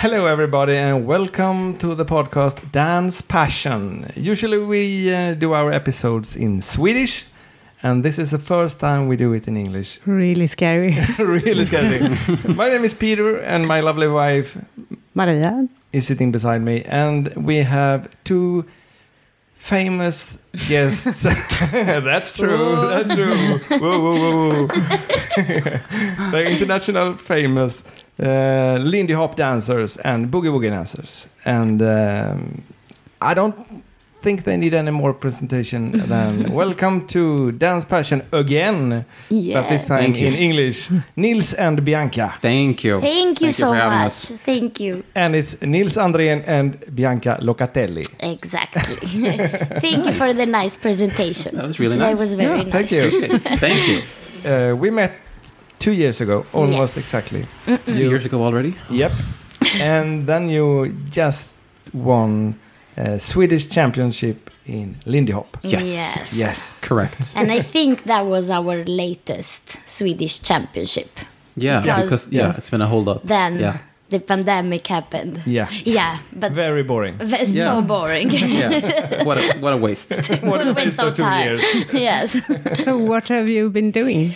Hello, everybody, and welcome to the podcast Dance Passion. Usually we do our episodes in Swedish, and this is the first time we do it in English. Really scary. Really scary. My name is Peter, and my lovely wife, Maria, is sitting beside me, and we have two famous guests. That's true. That's true. Whoa, whoa, whoa, whoa. The international famous Lindy Hop dancers and boogie woogie dancers, and I don't think they need any more presentation than welcome to Dance Passion again, but this time in English. Nils and Bianca. Thank you. Thank you so for having much. us. Thank you. And it's Nils Andrén and Bianca Locatelli. Exactly. Thank you for the nice presentation. That was really nice. That was very nice. Thank you. Thank you. We met 2 years ago, almost Yes. exactly. 2 years ago already? Yep. And then you just won Swedish championship in Lindy Hop. Yes. Yes. Correct. And I think that was our latest Swedish championship. Yeah, because it's been a hold up. Then the pandemic happened. Yeah. Yeah, but Very boring. so boring. Yeah. What a waste. What a waste of 2 years. Yes. so what have you been doing?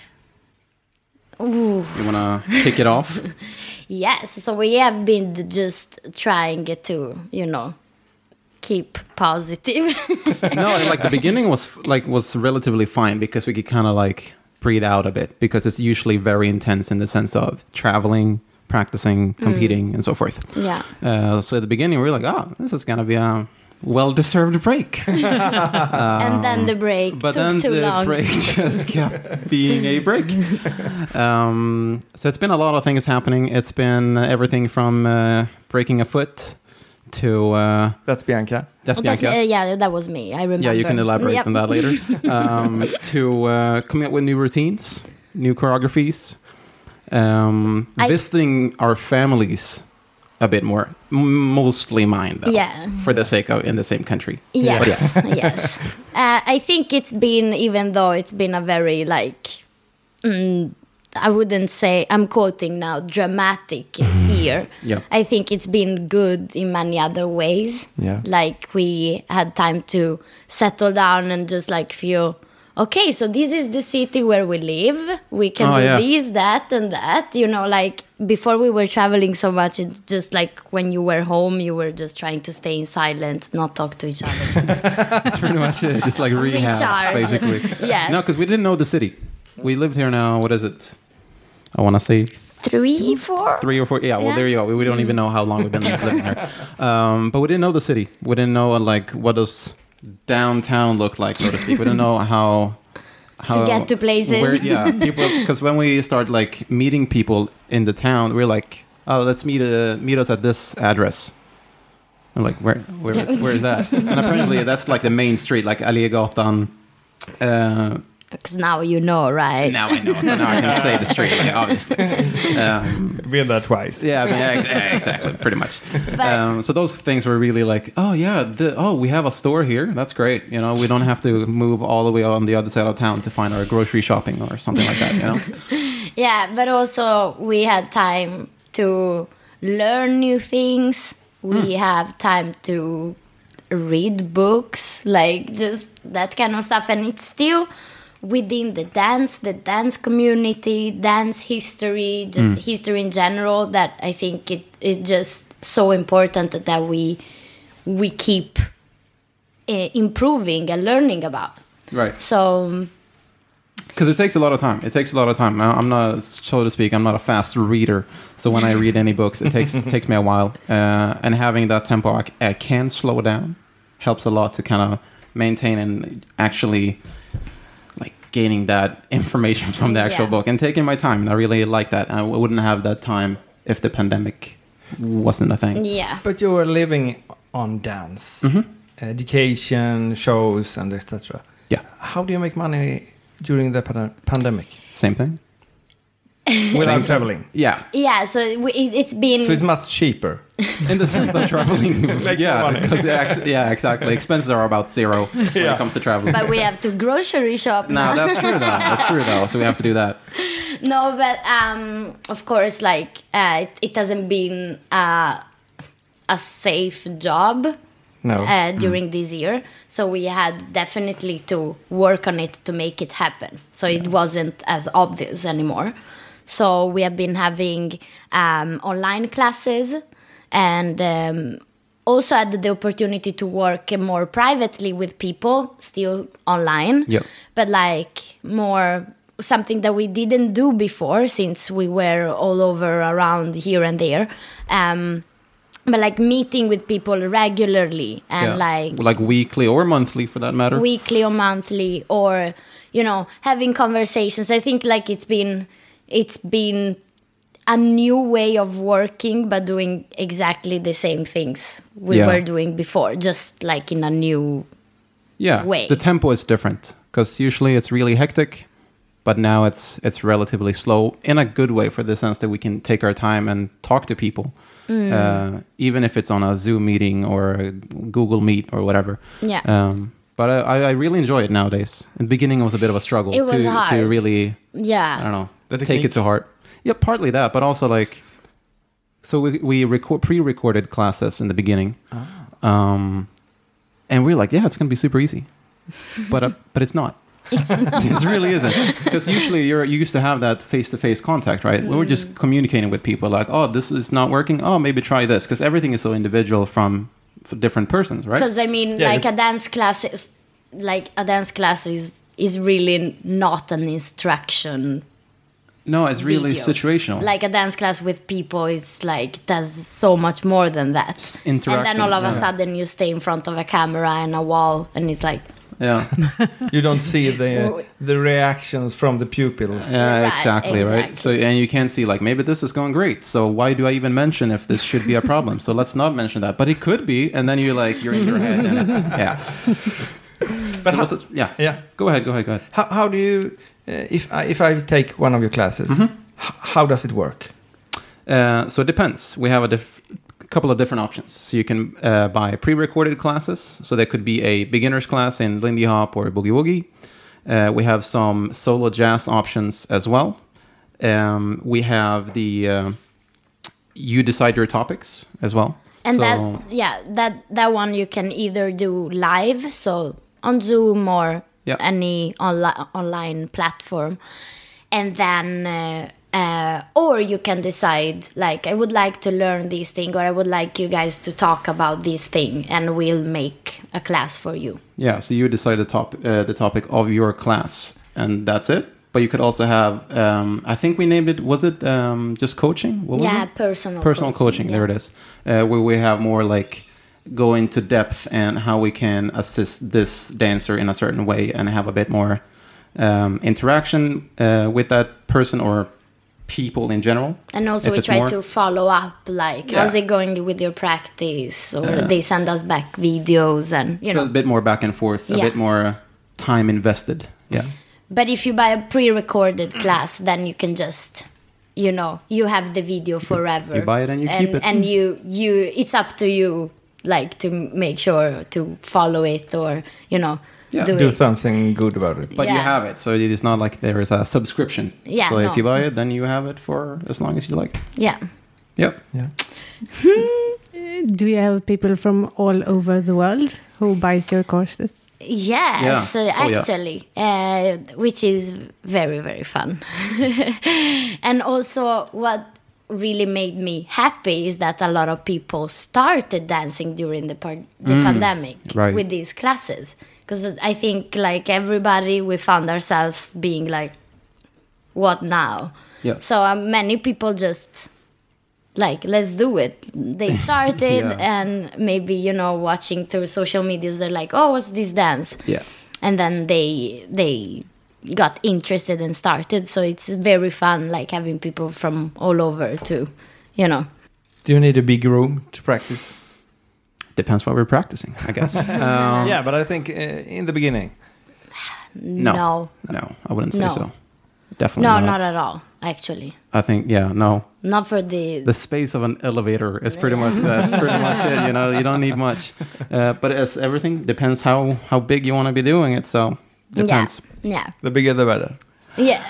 Ooh. You want to kick it off? Yes, so we have been just trying to, keep positive. No, like the beginning was relatively fine because we could kind of like breathe out a bit because it's usually very intense in the sense of traveling, practicing, competing, and so forth. Yeah. So at the beginning we were like, this is gonna be a well-deserved break. And then the break but took then too the long. break just kept being a break. So it's been a lot of things happening. It's been everything from breaking a foot to That's Bianca. that's Bianca. Yeah, that was me. I remember. Yeah, you can elaborate Yep. on that later. To coming up with new routines, new choreographies, visiting our families a bit more, mostly mine though. Yeah. For the sake of in the same country. Yes, yes. I think it's been, even though it's been a very I wouldn't say, I'm quoting now, dramatic year. Yeah. I think it's been good in many other ways. Yeah. Like we had time to settle down and just feel, okay, so this is the city where we live. We can do this, that, and that. Before we were traveling so much, it's just when you were home, you were just trying to stay in silence, not talk to each other. That's pretty much it. Just like rehab, Recharge. basically. Yes. No, because we didn't know the city. We lived here now, what is it? I want to say 3, 4? 3 or 4. Yeah, well, there you go. We don't even know how long we've been living here. But we didn't know the city. We didn't know, what does downtown look like, so to speak. We didn't know how To get to places. People, because when we start, meeting people in the town, we're like, oh, let's meet us at this address. I'm like, where is that? And apparently that's, the main street, Allegatan. Because now you know, right? Now I know, so now I can say the street, obviously. Been there twice. Yeah, exactly, pretty much. So those things were really we have a store here. That's great. We don't have to move all the way on the other side of town to find our grocery shopping or something like that. Yeah, but also we had time to learn new things. We have time to read books, just that kind of stuff. And it's still within the dance community, dance history, just history in general, that I think it's just so important that we keep improving and learning about. Right. So... Because it takes a lot of time. I'm not, so to speak, I'm not a fast reader. So when I read any books, it takes me a while. And having that tempo, I can slow down, helps a lot to kind of maintain and actually gaining that information from the actual book and taking my time. And I really like that. I wouldn't have that time if the pandemic wasn't a thing. Yeah. But you were living on dance, education, shows, and etc. Yeah. How do you make money during the pandemic? Same thing. Without traveling? Yeah. Yeah, so it's been... So it's much cheaper? In the sense that traveling, Makes more money. because exactly. Expenses are about zero when Yeah. it comes to traveling. But we have to grocery shop No, now. that's true though. That's true though. So we have to do that. No, but of course, like it hasn't been a safe job No. during this year, so we had definitely to work on it to make it happen. So it wasn't as obvious anymore. So we have been having online classes, and also had the opportunity to work more privately with people, still online. Yep. But like more something that we didn't do before, since we were all over around here and there. But like meeting with people regularly and like weekly or monthly for that matter. weekly or monthly, or having conversations. I think like it's been a new way of working, but doing exactly the same things we were doing before, just like in a new way. The tempo is different because usually it's really hectic, but now it's relatively slow in a good way, for the sense that we can take our time and talk to people, even if it's on a Zoom meeting or a Google Meet or whatever. Yeah. But I really enjoy it nowadays. In the beginning, it was a bit of a struggle It was to hard. really, Yeah. I don't know, The take technique? it to heart. Yeah, partly that, but also like, so we pre-recorded classes in the beginning, and we're like, yeah, it's gonna be super easy, but it's not. It really isn't, because usually you used to have that face-to-face contact, right? We were just communicating with people like, oh, this is not working. Oh, maybe try this, because everything is so individual for different persons, right? Because I mean, Yeah, like a dance class is really not an instruction. No, it's really video. situational. Like a dance class with people is like does so much more than that. And then interacting, all of a yeah. sudden you stay in front of a camera and a wall, and it's like Yeah, You don't see the reactions from the pupils. yeah, Right, exactly, right. exactly. So, and you can see like, maybe this is going great. So why do I even mention if this should be a problem? So let's not mention that. But it could be, and then you're in your head, and it's But So how, yeah. Go ahead. How do you, if I take one of your classes, how does it work? So it depends. We have a couple of different options. So you can buy pre-recorded classes. So there could be a beginner's class in Lindy Hop or Boogie Woogie. We have some solo jazz options as well. We have the you decide your topics as well. and so, that one you can either do live, so on Zoom or Yeah. any online platform, and then or you can decide like, I would like to learn this thing, or I would like you guys to talk about this thing, and we'll make a class for you. yeah, so you decide the topic of your class, and that's it. But you could also have, I think we named it, was it just coaching? What was it? Personal coaching. yeah. There it is, where we have more like go into depth and how we can assist this dancer in a certain way and have a bit more interaction with that person or people in general. And also If we it's try more- to follow up, like, Yeah. how's it going with your practice? Or they send us back videos, and, you So know. a bit more back and forth, a Yeah. bit more time invested. Yeah. But if you buy a pre-recorded class, then you can just, you have the video forever. You buy it and you keep it. And you it's up to you, like, to make sure to follow it, or, Yeah. do Do it. something good about it. But you Yeah. have it, so it is not like there is a subscription. Yeah, So if no. you buy it, then you have it for as long as you like. Yeah. Yep. Yeah. Do you have people from all over the world who buys your courses? Yes, Yeah. Oh, yeah. actually, which is very, very fun. And also, what really made me happy is that a lot of people started dancing during the pandemic right. with these classes. Because I think, like, everybody, we found ourselves being like, what now? Yeah. So many people just, like, let's do it. They started, Yeah. and maybe, watching through social medias, they're like, oh, what's this dance? Yeah. And then they got interested and started. So it's very fun, like, having people from all over to, Do you need a big room to practice? Depends what we're practicing, I guess. Yeah, but I think in the beginning. No. No, No, I wouldn't say No. so. Definitely no, not. not at all. actually. I think, no. Not for the space of an elevator is pretty much that's pretty much it. You know, you don't need much. But as everything depends how big you want to be doing it. So depends. Yeah. The bigger the better. Yeah.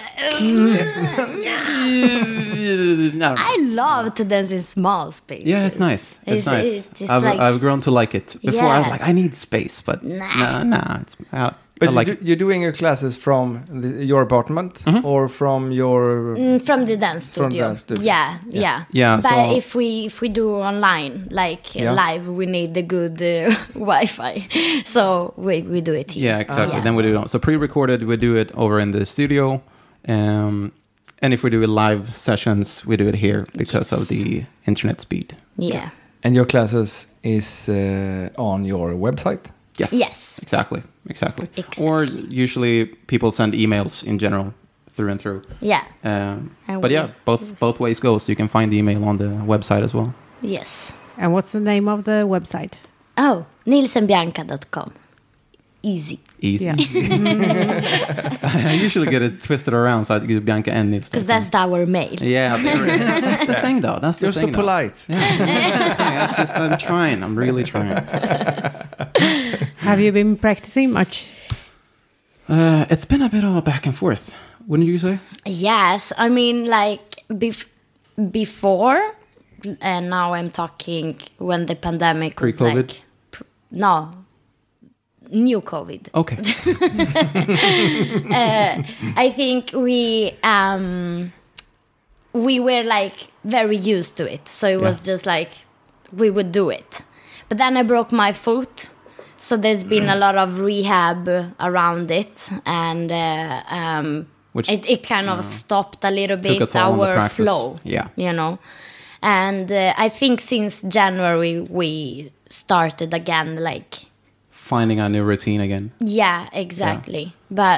No. I love to dance in small spaces. Yeah, it's nice. It's nice. It's I've grown to like it. Before I was Yeah. like, I need space, but nah. It's But I like it. you're doing your classes from your apartment or from your... From the dance From studio. dance studio. Yeah. Yeah, But so- if we do online, like Yeah. live, we need the good Wi-Fi. So we do it here. Yeah, exactly. Yeah. Then we do it. So pre-recorded, we do it over in the studio. And if we do live sessions, we do it here because of the internet speed. Yeah. And your classes is on your website? Yes. Exactly. Exactly. Or usually people send emails in general through and through. Yeah. But yeah, both ways go. So you can find the email on the website as well. Yes. And what's the name of the website? Oh, nilsenbianca.com. Easy. Easy. Yeah. I usually get it twisted around, so I do Bianca and Nils. Because that's our mail. Yeah, that's the thing, though. That's the You're so thing. though. polite. Yeah, it's just I'm trying. I'm really trying. Have you been practicing much? It's been a bit of a back and forth, wouldn't you say? Yes, I mean, like before, and now I'm talking when the pandemic was Pre-COVID? like, no, new COVID. Okay. I think we were like very used to it, so it was just like we would do it. But then I broke my foot, so there's been a lot of rehab around it, and Which it kind of stopped a little took a bit toll on the our practice. flow. Yeah. You know, and I think since January we started again, like. finding a new routine again. Yeah, exactly. But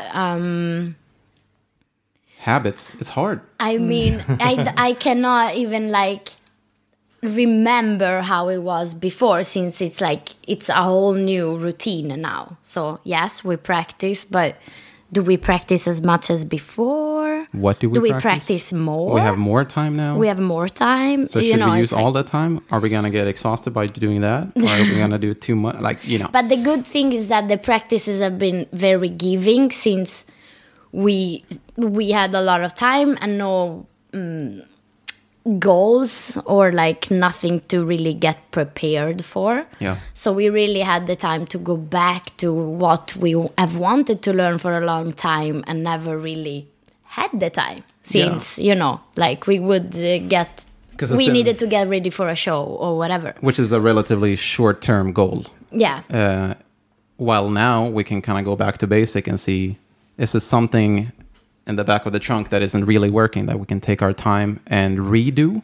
Habits. It's hard. I mean, I cannot even like remember how it was before, since it's like it's a whole new routine now. So yes, we practice, but do we practice as much as before? What do we Do we practice? practice more? We have more time now. We have more time. So should we it's use all that time? Are we gonna get exhausted by doing that? Or are we gonna do too much? Like, you know. But the good thing is that the practices have been very giving, since we had a lot of time and no goals or like nothing to really get prepared for. Yeah. So we really had the time to go back to what we have wanted to learn for a long time and never really had the time, since like we would get 'Cause it's we been- needed to get ready for a show or whatever. Which is a relatively short-term goal. Yeah. While now we can kind of go back to basic and see, is this something in the back of the trunk that isn't really working that we can take our time and redo?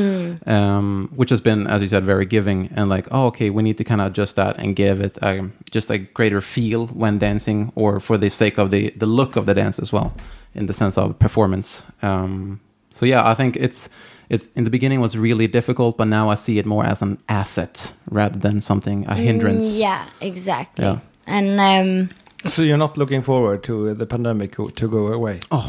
Which has been, as you said, very giving, and like, oh, okay, we need to kind of adjust that and give it just a greater feel when dancing, or for the sake of the look of the dance as well, in the sense of performance. So yeah, I think it's in the beginning was really difficult, but now I see it more as an asset rather than something, a hindrance. Yeah, exactly. Yeah. And So you're not looking forward to the pandemic to go away? Oh,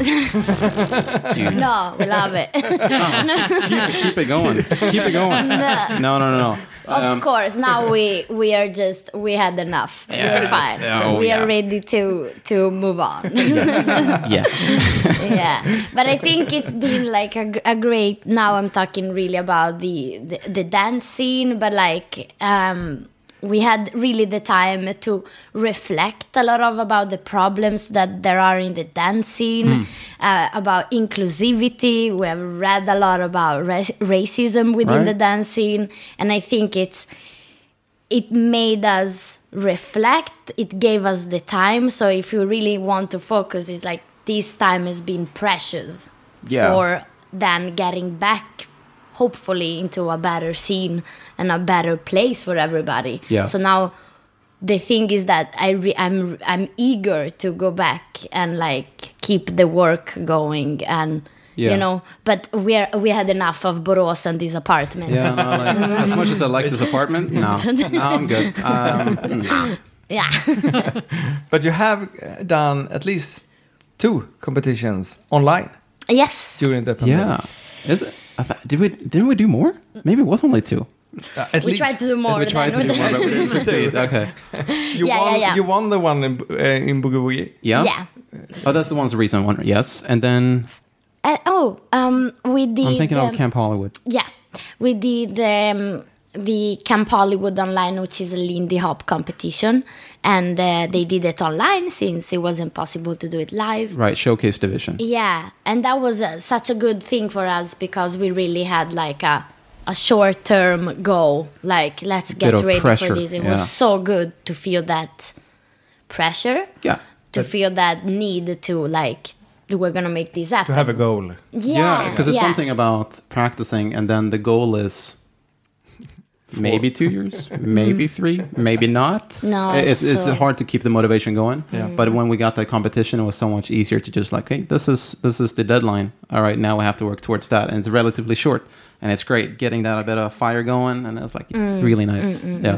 no, we love it. keep it going. Keep it going. No. Of course, now we are we had enough. Yeah, We're fine. We are ready to move on. Yes. Yeah, but I think it's been like a great. Now I'm talking really about the dance scene, but like we had really the time to reflect a lot about the problems that there are in the dance scene, about inclusivity. We have read a lot about racism within the dance scene, and I think it made us reflect. It gave us the time. So if you really want to focus, it's like this time has been precious for then getting back, hopefully, into a better scene and a better place for everybody. Yeah. So now the thing is that I'm eager to go back and like keep the work going, and but we had enough of Borås and this apartment. Yeah, no, like, as much as I like this apartment, no, I'm good. Yeah. But you have done at least 2 competitions online. Yes. during the pandemic. Yeah. Is it? Didn't we do more? Maybe it was only 2. At We least tried to do more. We tried to than do more, but we didn't succeed. Okay. you Yeah, won. yeah, yeah. You won the one in Boogie Woogie. Yeah. Yeah. Oh, that's the one's recent one. Yes. And then We did. I'm thinking of Camp Hollywood. Yeah, we did the Camp Hollywood online, which is a Lindy Hop competition, and they did it online since it wasn't possible to do it live. Right. Showcase division. Yeah, and that was such a good thing for us because we really had like a short-term goal. Like, let's Bit get of ready pressure, for this. It yeah. was so good to feel that pressure, Yeah. to feel that need to like, we're gonna make this happen. To have a goal. Yeah, Because it's something about practicing, and then the goal is maybe 2 years, maybe 3, maybe not. No, it's so- hard to keep the motivation going. Yeah. But when we got that competition, it was so much easier to just like, hey, this is the deadline. All right, now we have to work towards that, and it's relatively short, and it's great getting that a bit of fire going, and it's like really nice. Yeah.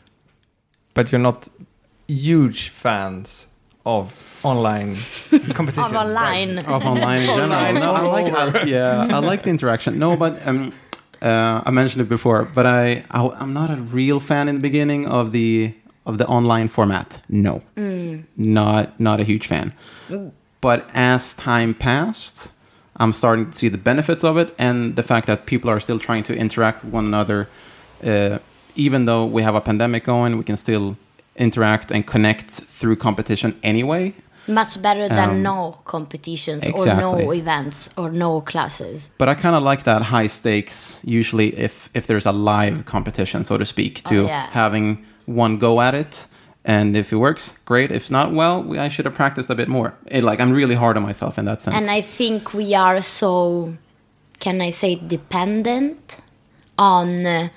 But you're not huge fans of online competitions. Of online. right? Of online in general. Online No, all over. I like the interaction. No, but I mentioned it before, but I'm not a real fan in the beginning of the online format. No, not a huge fan. But as time passed, I'm starting to see the benefits of it, and the fact that people are still trying to interact with one another. Even though we have a pandemic going, we can still interact and connect through competition anyway. Much better than no competitions or no exactly. events or no classes. But I kind of like that high stakes, usually if there's a live competition, so to speak, to yeah. having one go at it. And if it works, great. If not, well, I should have practiced a bit more. I'm really hard on myself in that sense. And I think we are so, can I say, dependent on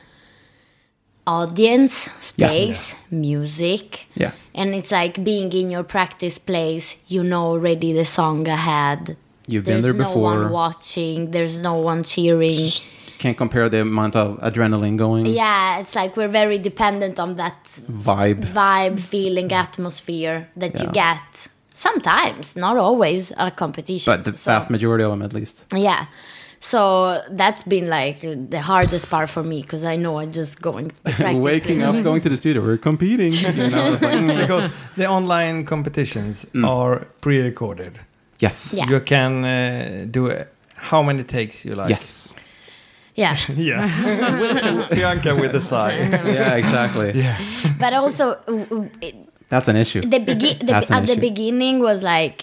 audience, space, music. Yeah. And it's like being in your practice place, you know already the song ahead. You've been there There's no before. one watching, there's no one cheering. Can't compare the amount of adrenaline going. Yeah, it's like we're very dependent on that Vibe. feeling, atmosphere that you Yeah. get sometimes, not always, at competitions. But the vast majority of them, at least. Yeah. So that's been like the hardest part for me because I know I'm just going to the practice. Waking up, going to the studio, we're competing. It's like, Because the online competitions are pre-recorded. yes. Yeah. You can do how many takes you like. Yes. Yeah. Yeah. Bianca with the sigh. Yeah, exactly. Yeah. But also, That's an issue. That's an at the issue. beginning was like,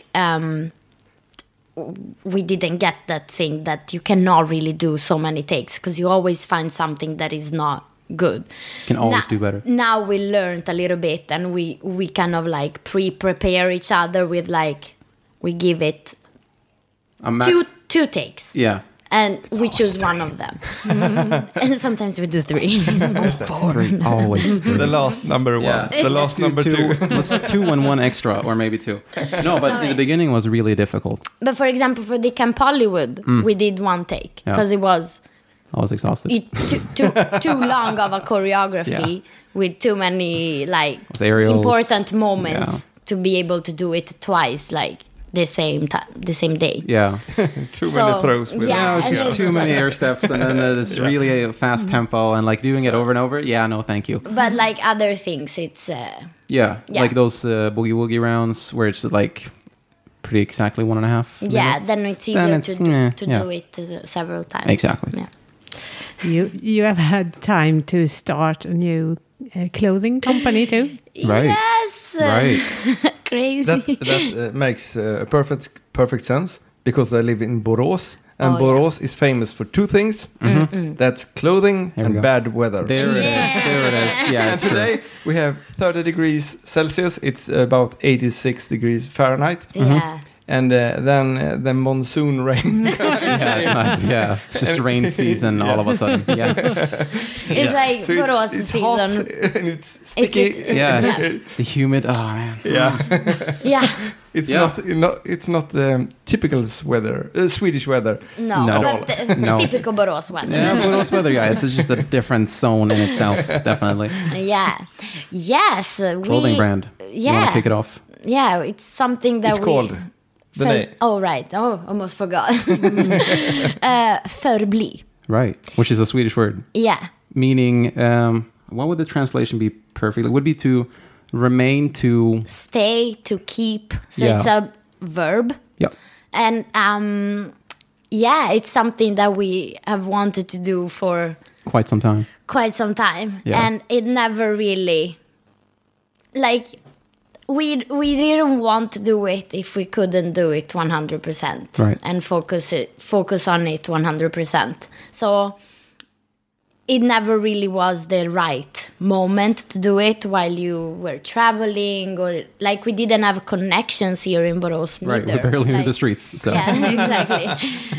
we didn't get that thing that you cannot really do so many takes because you always find something that is not good. Can always do better. Now we learned a little bit and we kind of like pre-prepare each other with like, we give it A max- two takes. Yeah. And we choose one of them. And sometimes we do 3. Three. Always three. The last number Yeah. one. The last number two. Let's 2 and 1 extra, or maybe 2. No, but in the beginning was really difficult. But for example, for the Camp Hollywood, we did 1 take Yeah. because it was I was exhausted. too long of a choreography with too many like With aerials. important moments Yeah. to be able to do it twice, like the same time, the same day. Yeah. Too many throws with yeah, Yeah, it's and just it's too many air steps, and then it's really a fast tempo, and like doing it over and over. Yeah, no, thank you. But like other things, it's Yeah, Yeah. like those boogie woogie rounds where it's like pretty exactly 1.5. yeah. minutes. Then it's Then easier it's, to do, yeah. do it several times. Exactly. Yeah. You have had time to start a new clothing company too. Right. Yes. Right. Crazy. That makes perfect sense because I live in Borås, and Oh, Borås is famous for 2 things. That's clothing Here we go. and bad weather. There it is. Yeah. There it is. Yeah. And it's true. today we have 30 degrees Celsius. It's about 86 degrees Fahrenheit. Yeah. And then the monsoon rain. Yeah. It's just rain season all of a sudden. Yeah. It's like So Borås it's season. hot and it's sticky. Yeah. it's just the humid. Oh man. Yeah. Yeah. It's Yeah. not typical weather, Swedish weather. No, No. but No. typical Borås weather. Yeah, Borås weather guy. It's just a different zone in itself, definitely. Yeah. Yes. Clothing brand. You want Yeah. to kick it off? Yeah, it's something that It's called The name. Oh, right. Oh, almost forgot. Förbli. Right, which is a Swedish word. Yeah. Meaning, what would the translation be perfectly? It would be to remain, to... Stay, to keep. So Yeah. it's a verb. Yeah. And yeah, it's something that we have wanted to do for Quite some time. quite some time. Yeah. And it never really, like, we didn't want to do it if we couldn't do it 100%. Right. And focus on it 100%. So it never really was the right moment to do it while you were traveling, or like we didn't have connections here in Borås Right, neither. we barely knew Like, the streets. So. yeah, exactly.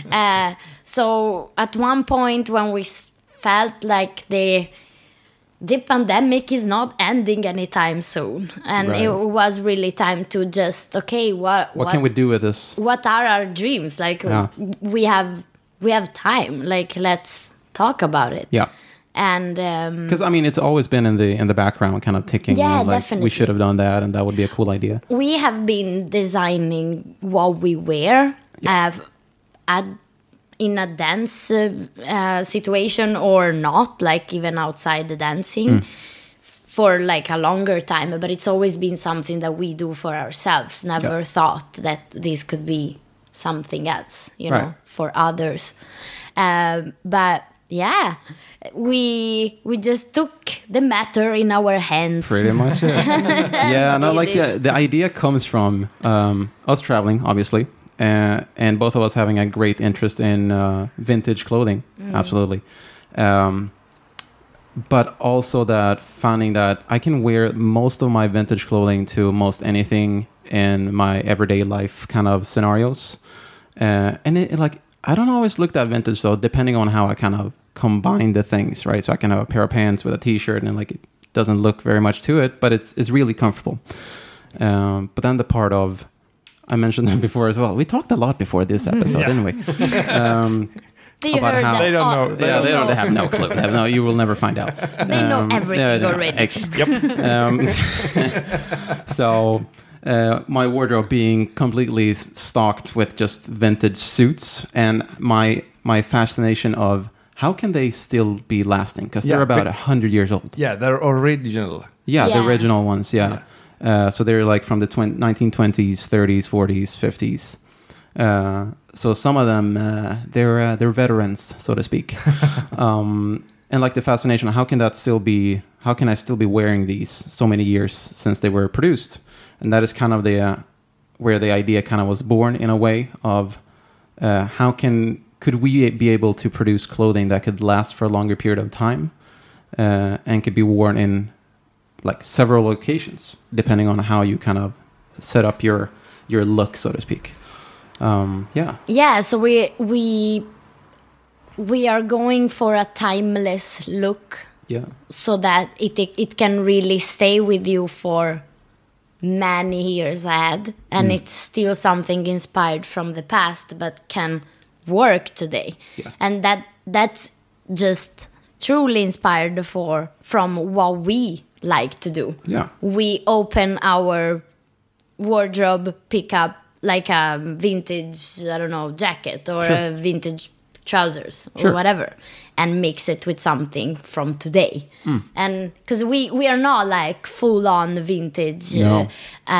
So at one point when we felt like the pandemic is not ending anytime soon, and Right. it was really time to just What can we do with this? what are our dreams? Like Yeah. we have time. Like let's talk about it. Yeah. And Because I mean, it's always been in the background, kind of ticking. Yeah, like, definitely. We should have done that, and that would be a cool idea. we have been designing what we wear in a dance situation or not, like even outside the dancing for like a longer time. But it's always been something that we do for ourselves. Never thought that this could be something else, you know, Right. for others. But yeah, we just took the matter in our hands. Pretty much it. Yeah, no, like the idea comes from us traveling, obviously, and both of us having a great interest in vintage clothing, absolutely. But also that finding that I can wear most of my vintage clothing to most anything in my everyday life kind of scenarios. And it like, I don't always look that vintage though, depending on how I kind of combine the things, right? So I can have a pair of pants with a t-shirt and like it doesn't look very much to it, but it's really comfortable. But then the part of, I mentioned that before as well. We talked a lot before this episode, didn't we? Do you about heard how- that? They don't know. They don't have no clue. They have no, you will never find out. They know everything already. Exactly. Yep. So my wardrobe being completely stocked with just vintage suits, and my fascination of how can they still be lasting, because they're Yeah, about but- 100 years old. Yeah, they're original. Yeah, the Yeah. original ones. Yeah. So they're like from the 1920s, 30s, 40s, 50s. So some of them they're veterans, so to speak. And like the fascination, how can I still be wearing these so many years since they were produced? And that is kind of where the idea kind of was born, in a way of could we be able to produce clothing that could last for a longer period of time and could be worn in like several locations, depending on how you kind of set up your look, so to speak. Yeah, so we are going for a timeless look, Yeah. so that it can really stay with you for many years ahead, and it's still something inspired from the past but can work today. Yeah. And that's just truly inspired from what we like to do. Yeah. We open our wardrobe, pick up like a vintage, I don't know, jacket or Sure. a vintage trousers or Sure. whatever, and mix it with something from today. And because we are not like full on vintage, No.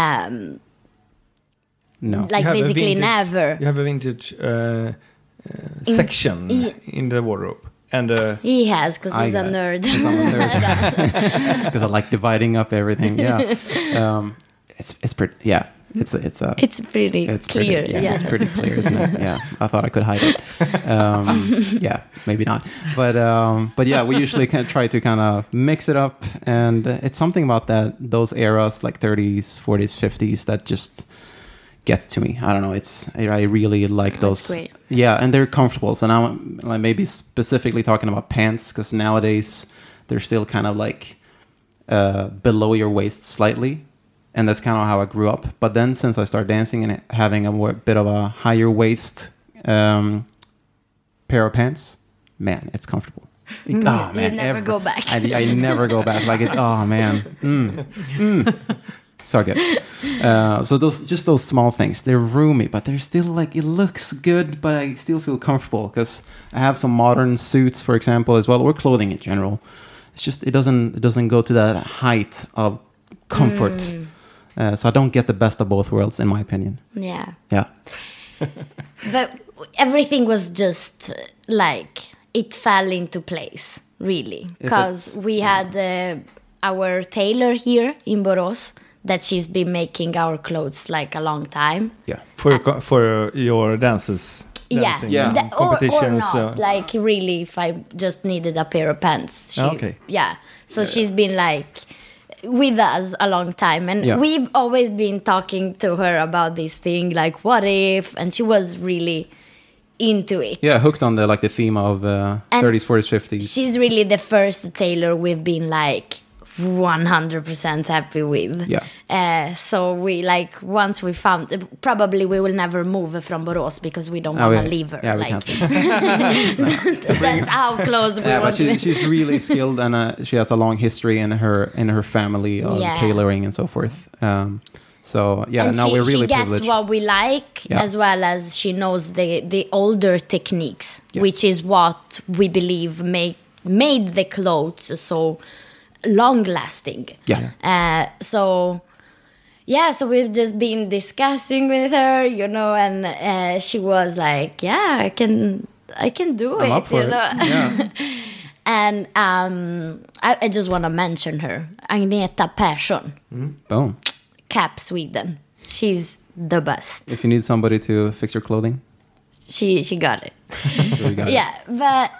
No. like You have a basically vintage- never. You have a vintage section in the wardrobe. And He has, because I he's a got it. nerd. 'Cause I'm a nerd. Because I like dividing up everything. Yeah. It's pretty. Yeah. It's a. It's pretty It's clear. Pretty, yeah, yeah. it's pretty clear, isn't it? Yeah, I thought I could hide it. Yeah, maybe not. But yeah, we usually try to kind of mix it up, and it's something about those eras, like 30s, 40s, 50s, that just gets to me. I don't know. I really like those. great. Yeah, and they're comfortable. So now I'm maybe specifically talking about pants, because nowadays they're still kind of like below your waist slightly. And that's kind of how I grew up. But then since I started dancing and having a bit of a higher waist pair of pants, man, it's comfortable. You never go back. I never go back. Like it. Oh man, So good. So those small things, they're roomy, but they're still like, it looks good, but I still feel comfortable because I have some modern suits, for example, as well, or clothing in general. It's just it doesn't go to that height of comfort. So I don't get the best of both worlds, in my opinion. Yeah. Yeah. But everything was just like it fell into place, really, because we had our tailor here in Borås that she's been making our clothes like a long time. Yeah. For your dances. Dancing, Yeah. Or competitions. not, like really, if I just needed a pair of pants. Okay. Yeah. So she's been like with us a long time, and Yeah. we've always been talking to her about this thing, like what if, and she was really into it. Yeah, hooked on the theme of 30s, 40s, 50s. She's really the first tailor we've been like 100% happy with. Yeah. So we like once we found, probably we will never move from Borås because we don't want to leave her. Yeah, we like, can't. that's how close we Yeah, want but to. she's really skilled, and she has a long history in her family of Yeah. tailoring and so forth. So yeah, And now we're really she gets privileged. what we like, Yeah. as well as she knows the older techniques, Yes. which is what we believe made the clothes so long lasting. Yeah. So we've just been discussing with her, and she was like, yeah, I can do I'm it, up for it. Yeah. And I just want to mention her, Agneta Persson, Boom. Cap Sweden. She's the best. If you need somebody to fix your clothing, She got it. we got it. Yeah, but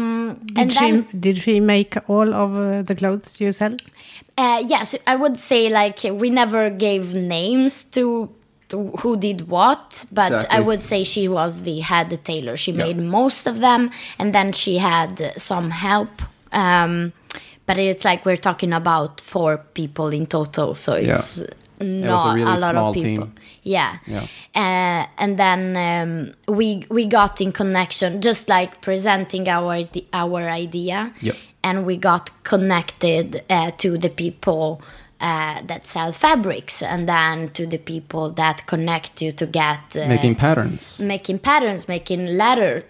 Did she make all of the clothes you sell? yes, I would say like we never gave names to who did what, but Exactly. I would say she was the head tailor. She made most of them, and then she had some help. But it's like we're talking about 4 people in total, so it's not a really a lot small of people. team. Yeah. Yeah. And then we got in connection, just like presenting our idea. Yep. And we got connected to the people that sell fabrics, and then to the people that connect you to get Making patterns. making patterns, making letters.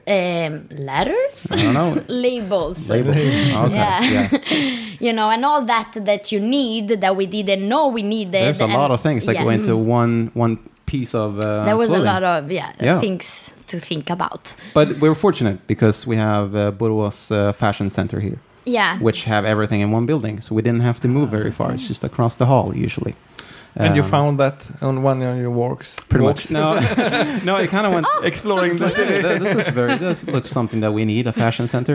I don't know. Labels. Label. Okay. Yeah. And all that you need that we didn't know we needed. There's a lot of things that go into one piece of There was clothing. a lot of Yeah. things to think about. But we're fortunate because we have Borås Fashion Center here, Yeah. which have everything in one building. So we didn't have to move very far. It's just across the hall usually. And you found that on one of your walks? Pretty walks? much. No, it kind of went... Exploring the city. This looks something that we need, a fashion center.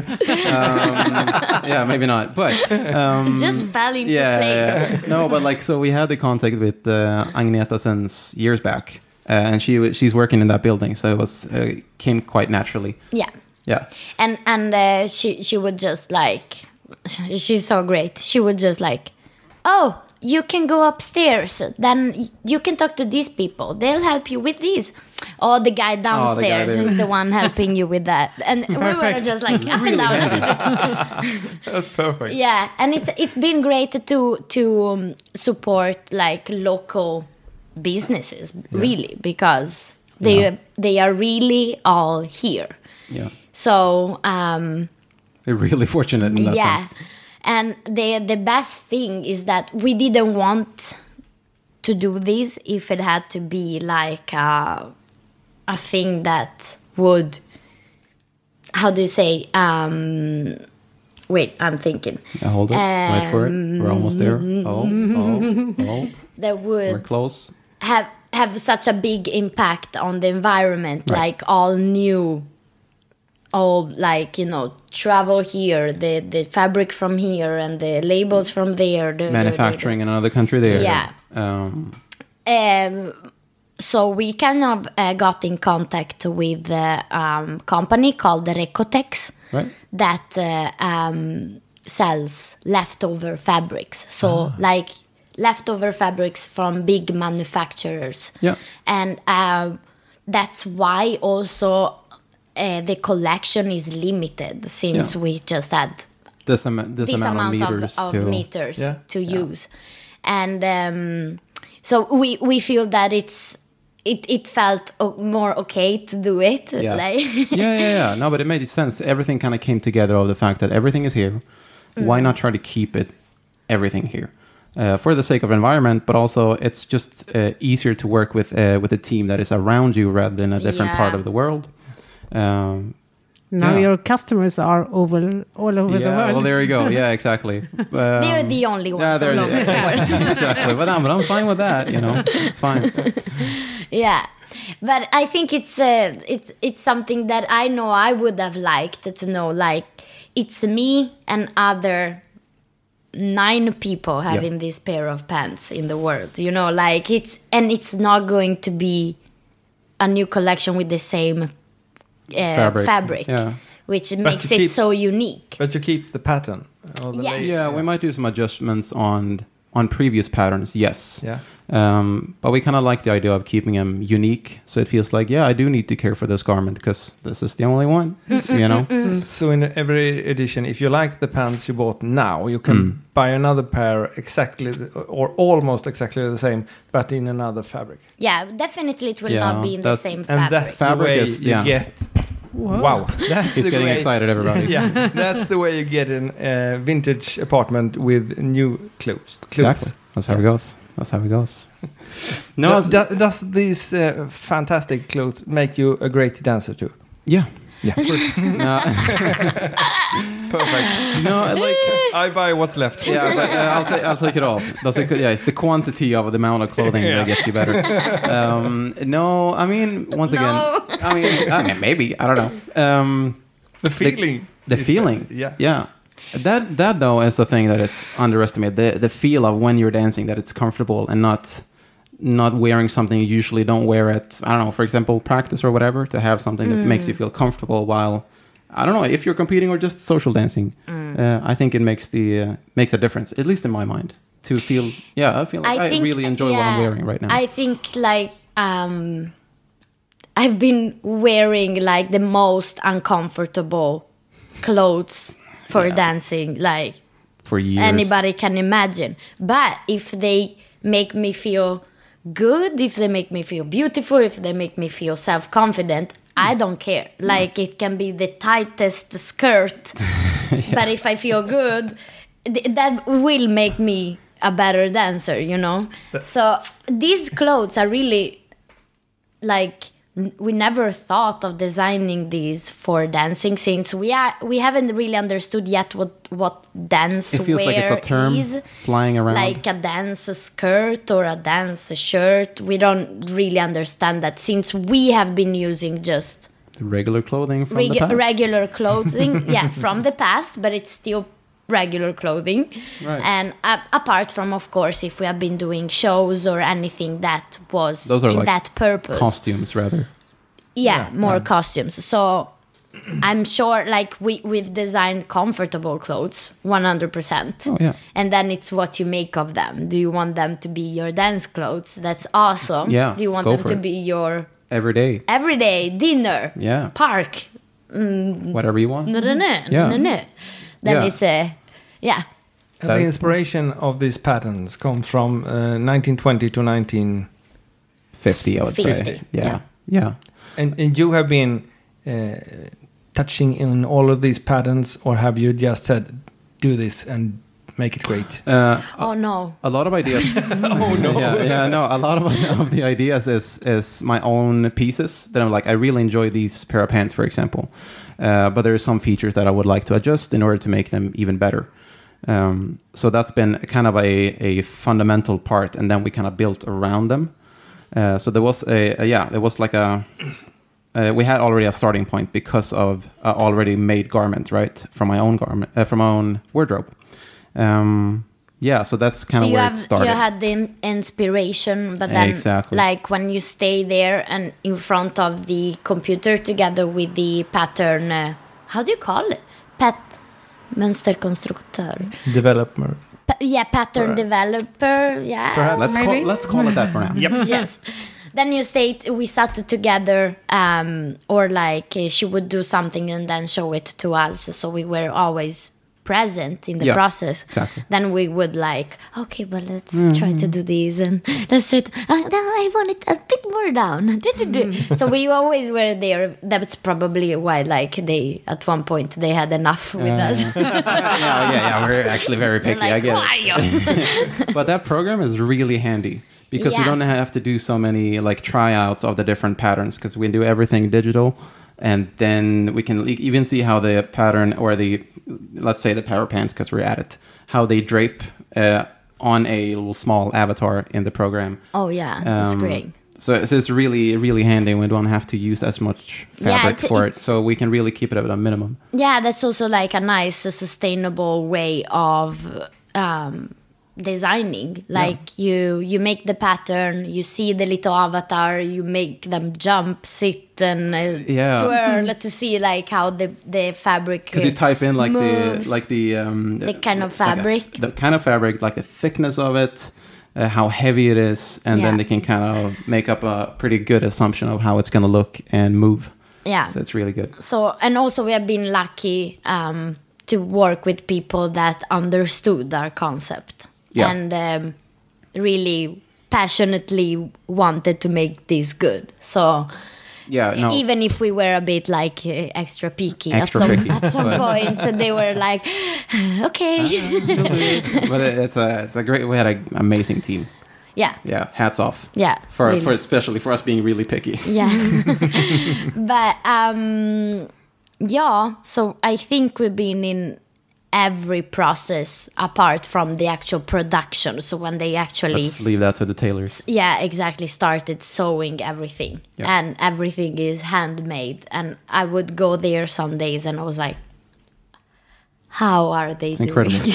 Yeah, maybe not, but Just fell into place. yeah. No, but like, so we had the contact with Agneta since years back, and she's working in that building, so it was came quite naturally. Yeah. Yeah, And she would just like, she's so great. She would just like, oh, you can go upstairs. Then you can talk to these people. They'll help you with these. Oh, the guy downstairs there. is the one helping you with that. And we were just like up and down. That's perfect. Yeah, and it's been great to support like local businesses, really, because they are really all here. yeah. So We're really fortunate in that sense. and the best thing is that we didn't want to do this if it had to be like a thing that would, how do you say, wait, I'm thinking. Yeah, hold it. Wait for it. We're almost there. Oh. That We're would close. have such a big impact on the environment, Right. like all new, all like, travel here, the fabric from here and the labels from there, Manufacturing in another country there. Yeah. So we kind of got in contact with a company called Recotex Right. that sells leftover fabrics. So like leftover fabrics from big manufacturers. Yeah. And that's why also the collection is limited, since we just had This amount of this amount meters of to meters Yeah. to use. And So we feel that it felt more okay to do it. Yeah. Like yeah. No, but it made sense. Everything kind of came together of the fact that everything is here. Why not try to keep everything here? For the sake of environment, but also it's just easier to work with a team that is around you rather than a different part of the world. Now your customers are all over the world. Well, there you go. Yeah, exactly. they're the only ones all over the world. Exactly. But I'm fine with that. It's fine. Yeah, but I think it's something that I know I would have liked to know. Like, it's me and other 9 people having this pair of pants in the world. Like it's not going to be a new collection with the same fabric, which makes it so unique. But you keep the pattern. Or the lace. Yeah, we might do some adjustments on previous patterns. Yes. Yeah. But we kind of like the idea of keeping them unique, so it feels like I do need to care for this garment because this is the only one. So in every edition, if you like the pants you bought now, you can buy another pair or almost exactly the same, but in another fabric. Yeah, definitely it will not be in the same And fabric. that's Fabric the way is- you get. Whoa. Wow, that's He's the getting way, excited, everybody. Yeah, that's the way you get a vintage apartment with new clothes. Exactly. That's how it goes. That's how it goes. No, Does these fantastic clothes make you a great dancer too? yeah. Yeah, No, perfect. no, like. I buy what's left. Yeah, but I'll take it all. It's the quantity of the amount of clothing that gets you better. No, I mean, once again, I mean, maybe, I don't know. The feeling. The is feeling. better. Yeah. Yeah. That though is the thing that is underestimated. The feel of when you're dancing, that it's comfortable and not wearing something you usually don't wear at, I don't know, for example, practice or whatever, to have something that makes you feel comfortable while, I don't know, if you're competing or just social dancing. I think it makes a difference, at least in my mind, to feel, I feel like I really enjoy what I'm wearing right now. I think like I've been wearing like the most uncomfortable clothes for dancing, like for years. anybody can imagine. But if they make me feel good, if they make me feel beautiful, if they make me feel self-confident, I don't care. Like, it can be the tightest skirt, but if I feel good, that will make me a better dancer, So these clothes are really like, we never thought of designing these for dancing, since we haven't really understood yet what dance it feels wear like it's a term is. flying around. Like a dance skirt or a dance shirt. We don't really understand that, since we have been using just regular clothing from the past. regular clothing, from the past, but it's still regular clothing. Right. And apart from, of course, if we have been doing shows or anything that was Those are in like that purpose. Costumes, rather. More costumes. So I'm sure like we've designed comfortable clothes 100%. Oh, yeah. And then it's what you make of them. Do you want them to be your dance clothes? That's awesome. Yeah, Do you want go them for to it. be your Every day. everyday dinner? Yeah. Park? Whatever you want. No. Yeah. Then Yeah. it's a And the inspiration of these patterns comes from 1920 to 50, I would say. 50, Yeah. And you have been touching in all of these patterns, or have you just said, do this and make it great? oh no. A lot of ideas. Oh no! No. A lot of the ideas is my own pieces that I'm like. I really enjoy these pair of pants, for example, but there are some features that I would like to adjust in order to make them even better. So that's been kind of a fundamental part, and then we kind of built around them. So there was we had already a starting point because of already made garment, right, from my own from my own wardrobe. So that's kind of where it started. You had the inspiration, but then Exactly. like when you stay there and in front of the computer together with the pattern, how do you call it? Mönsterkonstruktör. Developer. Pattern Perhaps. developer. Yeah. Perhaps. Let's call it that for now. Yes. Then we sat together, or like she would do something and then show it to us. So we were always present in the Yeah, process, exactly. then we would like, okay, but let's try to do this and let's try to, no, I want it a bit more down. So we always were there. That's probably why, like, they at one point they had enough with us. Yeah. We're actually very picky. Like, I get why it. are you? But that program is really handy because we Yeah. don't have to do so many like tryouts of the different patterns because we do everything digital, and then we can even see how the pattern or the, let's say the power pants, because we're at it, how they drape on a little small avatar in the program. Oh yeah, that's Um, great. So it's really, really handy. We don't have to use as much fabric for it. So we can really keep it at a minimum. Yeah, that's also like a nice, sustainable way of designing. Like you make the pattern, you see the little avatar, you make them jump, sit, and twirl to see like how the fabric. Because you type in like moves. the kind of it's like fabric. the kind of fabric, like the thickness of it, how heavy it is, and then Yeah. they can kind of make up a pretty good assumption of how it's going to look and move. Yeah. So it's really good. So, and also we have been lucky to work with people that understood our concept Yeah. and really passionately wanted to make this good. So Yeah, no. even if we were a bit like extra picky Extra picky, at some but- points, and they were like, okay, But it's a great. We had an amazing team. yeah, Yeah, hats off. yeah, For really. especially for us being really picky. Yeah. But yeah, so I think we've been in every process apart from the actual production. So when they actually Let's leave that to the tailors. exactly started sewing everything, Yeah. and everything is handmade, and I would go there some days and I was like, how are they doing? incredible.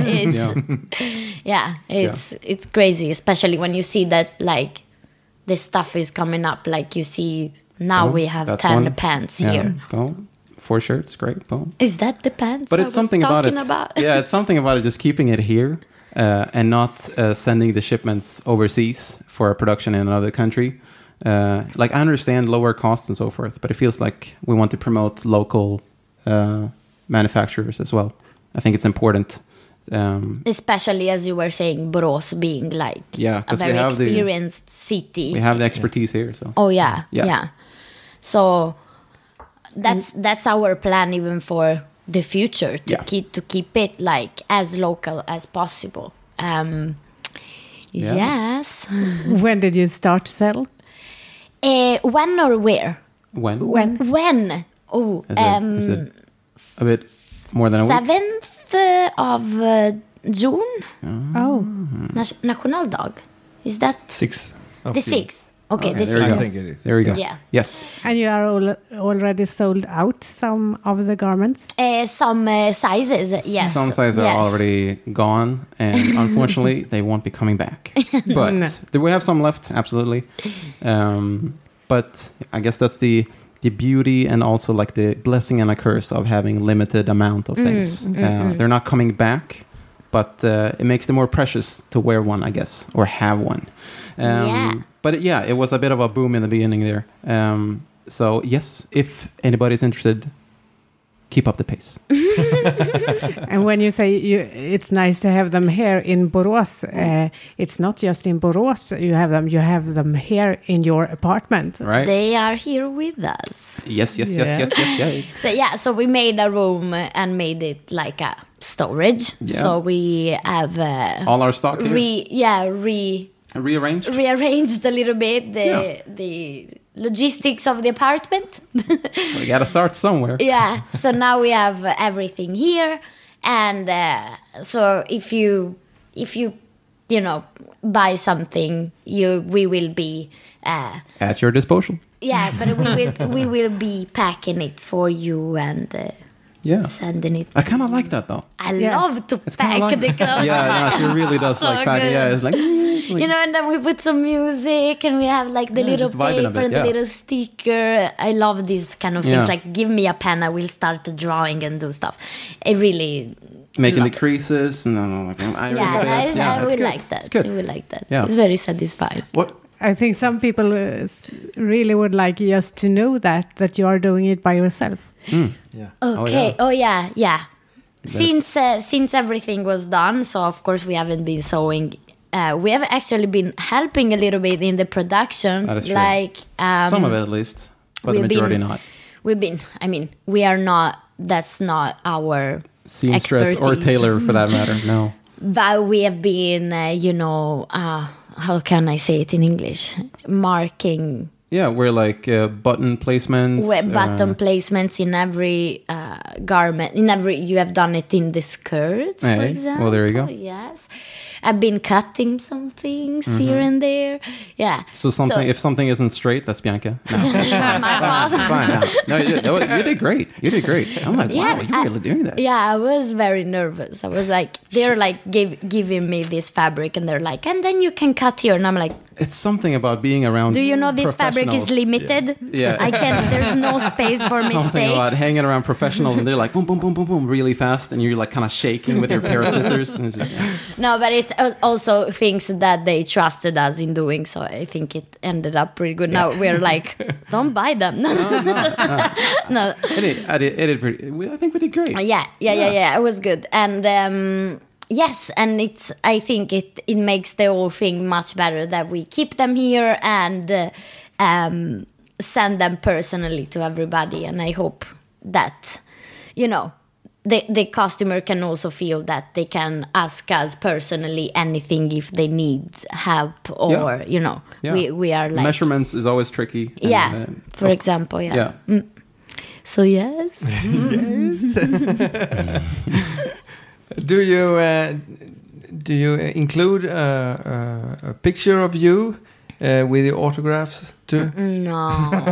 It's crazy, especially when you see that like the stuff is coming up. Like you see now we have That's 10 one. pants Yeah. here. Boom. 4 shirts, great. Boom. Is that the pants? But I it's was something about it. talking about? Yeah, it's something about it. Just keeping it here and not sending the shipments overseas for a production in another country. Like I understand lower costs and so forth, but it feels like we want to promote local manufacturers as well. I think it's important. Especially as you were saying, Borås being like Yeah, a 'cause we very have the- experienced city. We have the expertise here, so Oh yeah, Yeah. yeah. So that's our plan even for the future to Yeah. keep it like as local as possible. Yeah. Yes. When did you start to sell? When or where? when When? Oh, is it a bit more than a week? 7th of June, Oh, Nationaldag. Is that 6th of the June. 6th? Okay, Okay, the there you I go. 6th. think it is. There you go. Yeah. Yes. and you are already sold out some of the garments? Some sizes, yes. Some sizes are Yes. already gone, and unfortunately, they won't be coming back. But we have some left, absolutely. But I guess that's the beauty and also like the blessing and a curse of having limited amount of things. They're not coming back, but it makes them more precious to wear one, I guess, or have one. Yeah. But yeah, it was a bit of a boom in the beginning there. So yes, if anybody's interested, keep up the pace. And when you say it's nice to have them here in Borås, it's not just in Borås you have them here in your apartment. Right? They are here with us. Yes. So yeah, so we made a room and made it like a storage. Yeah. So we have All our stock here? Rearranged? rearranged a little bit the logistics of the apartment. We gotta start somewhere. Yeah, so now we have everything here, and so if you buy something, we will be At your disposal. but we will be packing it for you and Yeah. sending it. I kind of like that though. I Yes. love to It's pack kind of like the clothes. Yeah, no, she really does So like packing. good. Yeah, it's like, You know, and then we put some music and we have like the Yeah, little just vibing a paper bit, and the yeah. little sticker. I love these kind of things. Yeah. Like, give me a pen, I will start drawing and do stuff. It really, making the creases and then like I I it's will good. like that. It's good. I will like that. Yeah. It's very satisfying. What? I think some people really would like just to know that you are doing it by yourself. Yeah. Okay. yeah. Oh yeah. Since everything was done, so of course we haven't been sewing. We have actually been helping a little bit in the production. That is true. Like Some of it at least, but the we've majority been- not. We've been. I mean, we are not. That's not our Seamstress or expertise. tailor for that matter. No. But we have been, how can I say it in English? Marking Yeah, we're like button placements. button placements in every garment. You have done it in the skirts, for Hey, example. well, there you go. Yes. I've been cutting some things here and there. Yeah. So if something isn't straight, that's Bianca. No. It's my fault. Fine. No, you did great. You did great. I'm like, Yeah, wow, you're really doing that. Yeah, I was very nervous. I was like, they're like giving me this fabric, and they're like, and then you can cut here, and I'm like, It's something about being around. do you know this fabric is professionals. limited? Yeah. I can. There's no space for Something about mistakes. hanging around professionals, and they're like boom, boom, boom, boom, boom, really fast, and you're like kind of shaking with your pair of scissors. And it's just, No, but it's also things that they trusted us in doing. So I think it ended up pretty good. Now we're like, don't buy them. No. it did pretty. I think we did great. Yeah. It was good, and yes, and I think it makes the whole thing much better that we keep them here and send them personally to everybody, and I hope that the customer can also feel that they can ask us personally anything if they need help or Yeah. we are like Measurements is always tricky. and, yeah, for example, yeah. So yes. Do you include a picture of you with your autographs too? No.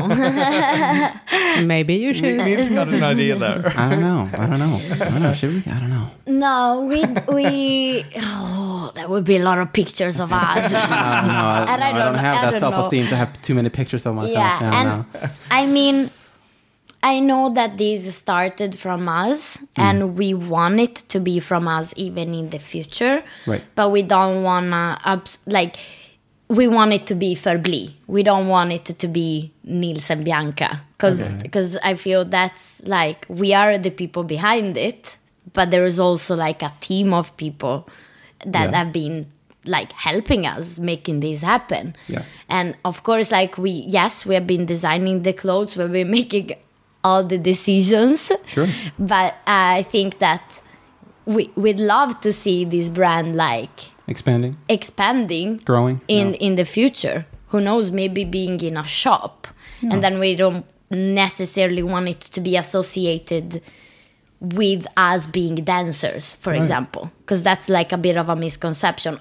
Maybe you should. Nils got an idea there. I don't know. Should we? I don't know. No, we that would be a lot of pictures of us. I don't have I that don't self-esteem to have too many pictures of myself. Yeah, No, and no. I mean, I know that this started from us, and we want it to be from us even in the future. Right. But we don't wanna we want it to be Förbli. We don't want it to be Nils and Bianca, because I feel that's like we are the people behind it, but there is also like a team of people that have been like helping us making this happen. Yeah. And of course, like we have been designing the clothes, we've been making all the decisions. Sure. But I think that we'd love to see this brand like expanding, growing in the future. Who knows, maybe being in a shop. And then we don't necessarily want it to be associated with us being dancers, for example, because that's like a bit of a misconception.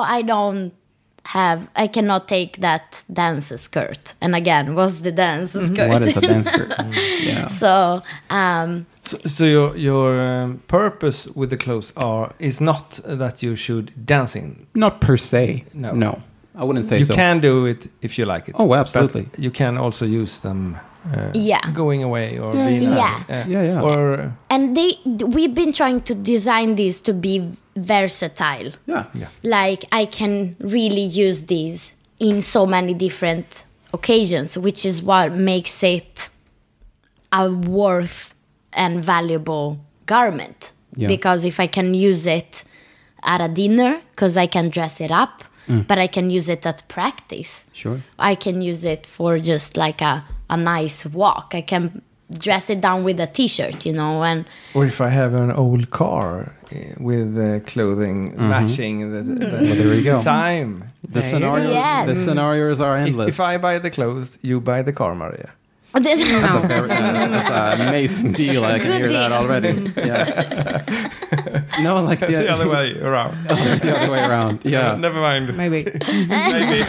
I cannot take that dance skirt. And again, what's the dance skirt? What is a dance skirt? Yeah. So, So your purpose with the clothes is not that you should dance in. Not per se. No. I wouldn't say You so. can do it if you like it. Oh, absolutely. But you can also use them going away or being Yeah. or and we've been trying to design these to be versatile. Yeah. Like I can really use these in so many different occasions, which is what makes it a worth and valuable garment. Yeah. Because if I can use it at a dinner, because I can dress it up, but I can use it at practice. Sure. I can use it for just like a nice walk. I can dress it down with a t-shirt, and or if I have an old car with clothing matching the Well, there you go. time. The scenarios. Yes. The scenarios are endless. If I buy the clothes, you buy the car, Maria. That's an amazing deal. I can Good hear that deal. already. Yeah. No, like The other way around. the other way around. Yeah. Never mind. Maybe. Maybe.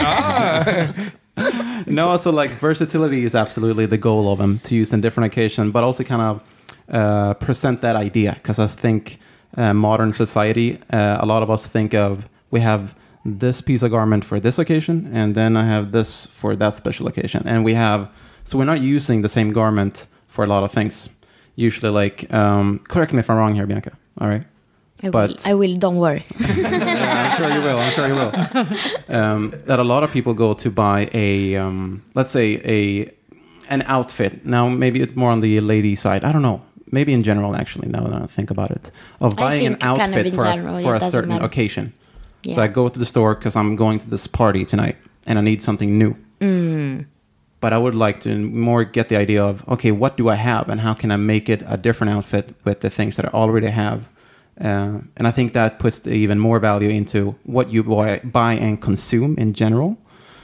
No, so like versatility is absolutely the goal of them, to use in different occasions, but also kind of present that idea. Because I think modern society, a lot of us think of, we have this piece of garment for this occasion, and then I have this for that special occasion. And so we're not using the same garment for a lot of things. Usually, like, correct me if I'm wrong here, Bianca. All right. I will. Don't worry. Yeah, I'm sure you will. That a lot of people go to buy let's say an outfit. Now, maybe it's more on the lady side. I don't know. maybe in general, actually, now that I think about it, of buying an think kind of outfit in for general, for it a doesn't certain matter. occasion. Yeah. So I go to the store because I'm going to this party tonight and I need something new. But I would like to more get the idea of, okay, what do I have and how can I make it a different outfit with the things that I already have? And I think that puts even more value into what you buy and consume in general.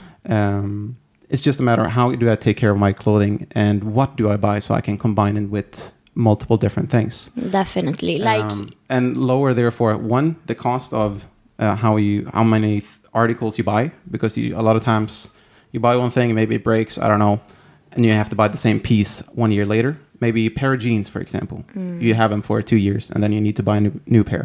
It's just a matter of how do I take care of my clothing and what do I buy so I can combine it with multiple different things. Definitely. Like, And lower, therefore, one, the cost of how many articles you buy, because a lot of times you buy one thing and maybe it breaks, I don't know, and you have to buy the same piece 1 year later. Maybe a pair of jeans, for example. You have them for 2 years and then you need to buy a new pair.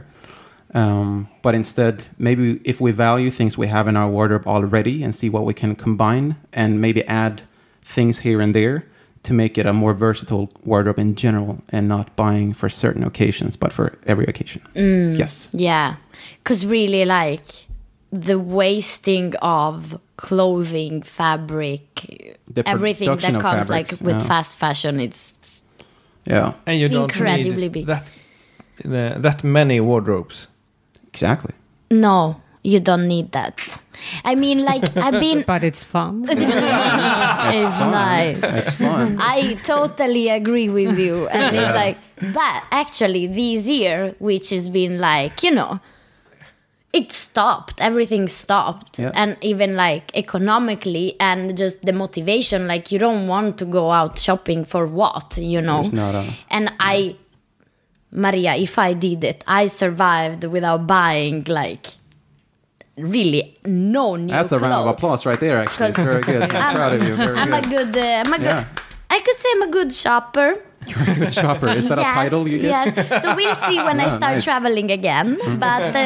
But instead, maybe if we value things we have in our wardrobe already and see what we can combine and maybe add things here and there to make it a more versatile wardrobe in general and not buying for certain occasions, but for every occasion. Yes. yeah. Because really, like, the wasting of clothing, fabric, The everything production that of comes fabrics, like with yeah. fast fashion, it's Yeah, And you don't Incredibly need big. that many wardrobes. exactly. no, you don't need that. I mean, like, I've been. But it's fun. It's nice. It's fun. I totally agree with you. And it's like, but actually, this year, which has been like, it stopped. Everything stopped. Yeah. And even like economically and just the motivation, like, you don't want to go out shopping for what, There's not a... And Maria, if I did it, I survived without buying, like, really no new That's a round of clothes. applause right there, actually. It's very good. I'm proud of you. Very I'm good. a good. I could say I'm a good shopper. You're a good shopper. Is that a title you get? Yes. So we'll see when I Yeah, start nice. traveling again. But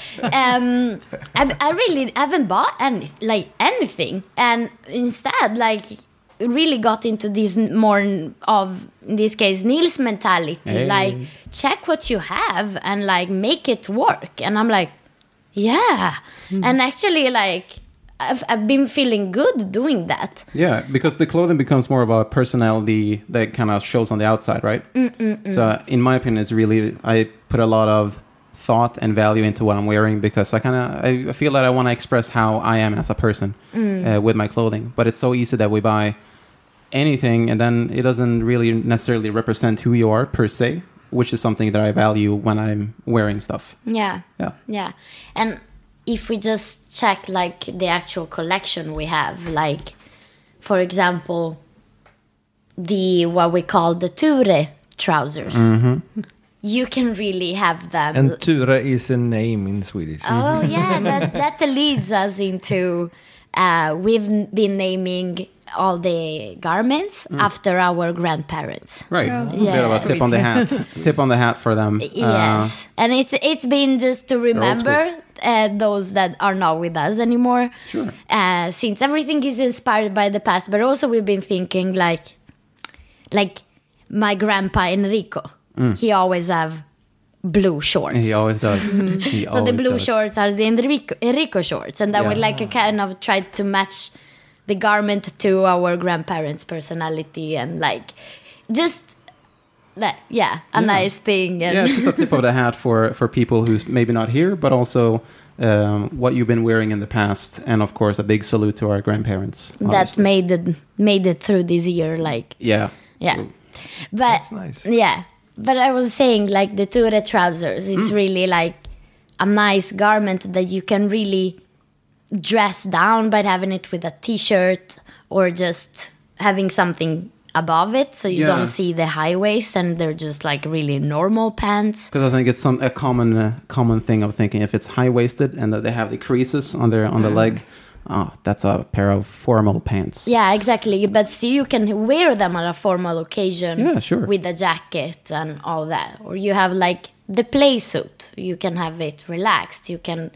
I really haven't bought anything, and instead, like, really got into this more of, in this case, Neil's mentality. Hey. Like, check what you have and like make it work. And I'm like, yeah. And actually, like, I've been feeling good doing that. Yeah, because the clothing becomes more of a personality that kind of shows on the outside, right? So, in my opinion, it's really, I put a lot of thought and value into what I'm wearing because I feel that I want to express how I am as a person with my clothing. But it's so easy that we buy anything and then it doesn't really necessarily represent who you are per se, which is something that I value when I'm wearing stuff. Yeah. Yeah. Yeah. And if we just check like the actual collection we have, like, for example, what we call the Ture trousers, you can really have them. And Ture is a name in Swedish. Oh yeah, that leads us into we've been naming all the garments after our grandparents. Right. It's a bit of a Yes. tip on the hat. Tip on the hat for them. Yes, and it's been just to remember those that are not with us anymore. Sure. Since everything is inspired by the past, but also we've been thinking like my grandpa Enrico. He always have blue shorts. He always does. He So the always blue does. shorts are the Enrico shorts, and then we Yeah. like kind of tried to match the garment to our grandparents' personality and like just a nice thing. And Yeah, it's just a tip of the hat for people who's maybe not here, but also what you've been wearing in the past, and of course a big salute to our grandparents. that obviously. made it through this year, like Yeah. but That's nice. yeah. But I was saying, like, the Ture trousers, it's really like a nice garment that you can really dress down by having it with a t-shirt or just having something above it so you Yeah. don't see the high waist and they're just like really normal pants. Because I think it's a common thing of thinking if it's high waisted and that they have the creases on the leg, that's a pair of formal pants. Yeah, exactly. But still you can wear them on a formal occasion. Yeah, sure. With a jacket and all that. Or you have like the play suit. You can have it relaxed. You can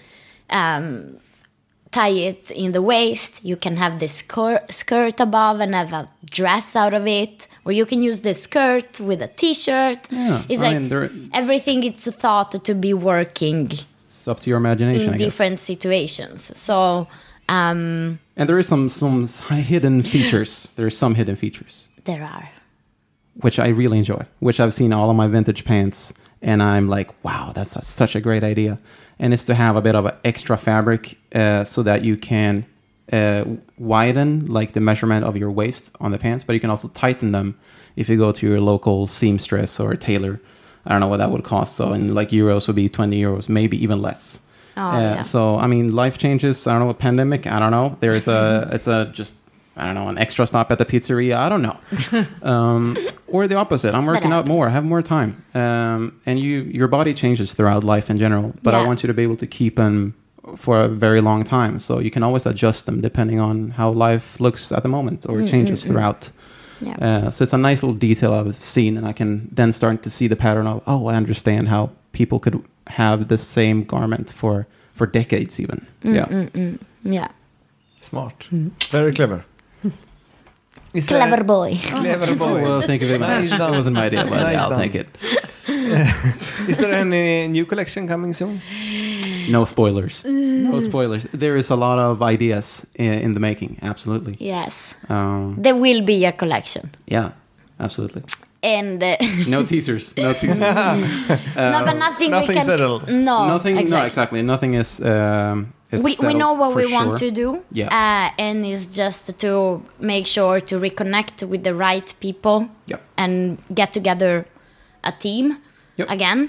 tie it in the waist. You can have the skirt above and have a dress out of it. Or you can use the skirt with a t-shirt. Yeah, It's I like mean, everything it's thought to be working it's up to your imagination, in I guess. different situations. So And there is some hidden features. There are some hidden features. there are. which I really enjoy, which I've seen all of my vintage pants, and I'm like, wow, that's such a great idea. And it's to have a bit of an extra fabric so that you can widen like the measurement of your waist on the pants, but you can also tighten them if you go to your local seamstress or tailor. I don't know what that would cost. So in like euros would be 20 euros, maybe even less. Oh, yeah. So, I mean, life changes. I don't know, a pandemic. I don't know. There's I don't know, an extra stop at the pizzeria. I don't know. Or the opposite. I'm working out more. I have more time. And your body changes throughout life in general. But I want you to be able to keep them for a very long time. So you can always adjust them depending on how life looks at the moment or changes throughout. Yeah. So it's a nice little detail I've seen. And I can then start to see the pattern of, I understand how people could have the same garment for decades even. Yeah. Smart. Very clever. Clever boy. Clever boy. Well, thank you very much. That wasn't my idea, but I'll take it. Is there any new collection coming soon? No spoilers. No spoilers. There is a lot of ideas in the making. Absolutely. Yes. There will be a collection. Yeah, absolutely. And no teasers. No teasers. no, but nothing we can settled. No, nothing. exactly. No, exactly. Nothing is. We know what we want to do. Yeah. And it's just to make sure to reconnect with the right people. Yep. And get together a team again.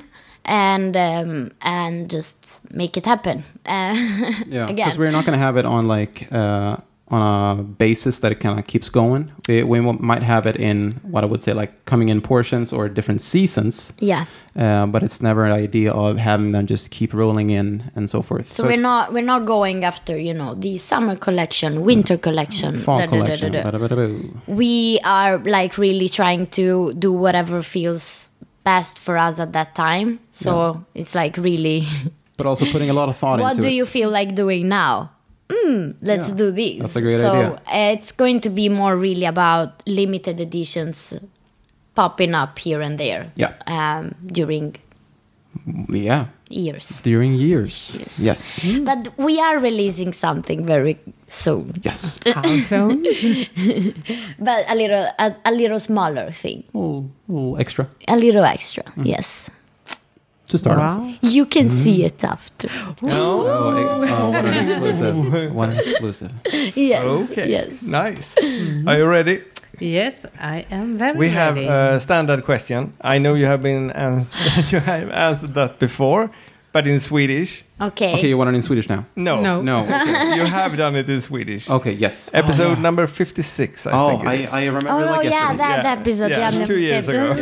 And just make it happen. Yeah, again. because we're not going to have it on like on a basis that it kind of keeps going. We might have it in what I would say like coming in portions or different seasons. Yeah. But it's never an idea of having them just keep rolling in and so forth. So we're not going after the summer collection, winter collection, fall collection. We are like really trying to do whatever feels best for us at that time. So it's like really. But also putting a lot of thought into it. What do you feel like doing now? Let's do this. That's a great idea. So it's going to be more really about limited editions popping up here and there. Yeah. During. Yeah. Years. During years. Yes. But we are releasing something very soon. Yes. How soon? But a little smaller thing. A little extra. A little extra. Yes. To start off. You can see it after. Oh, what an exclusive. What an exclusive. Yes. Okay. Yes. Nice. Are you ready? Yes, I am very We have ready. a standard question. I know you have you have answered that before, but in Swedish. Okay. Okay, you want it in Swedish now? No. No. Okay. You have done it in Swedish. Okay, yes. Episode number 56, I think it is. I remember Oh, no, like yesterday. that episode. Yeah, 2 years ago.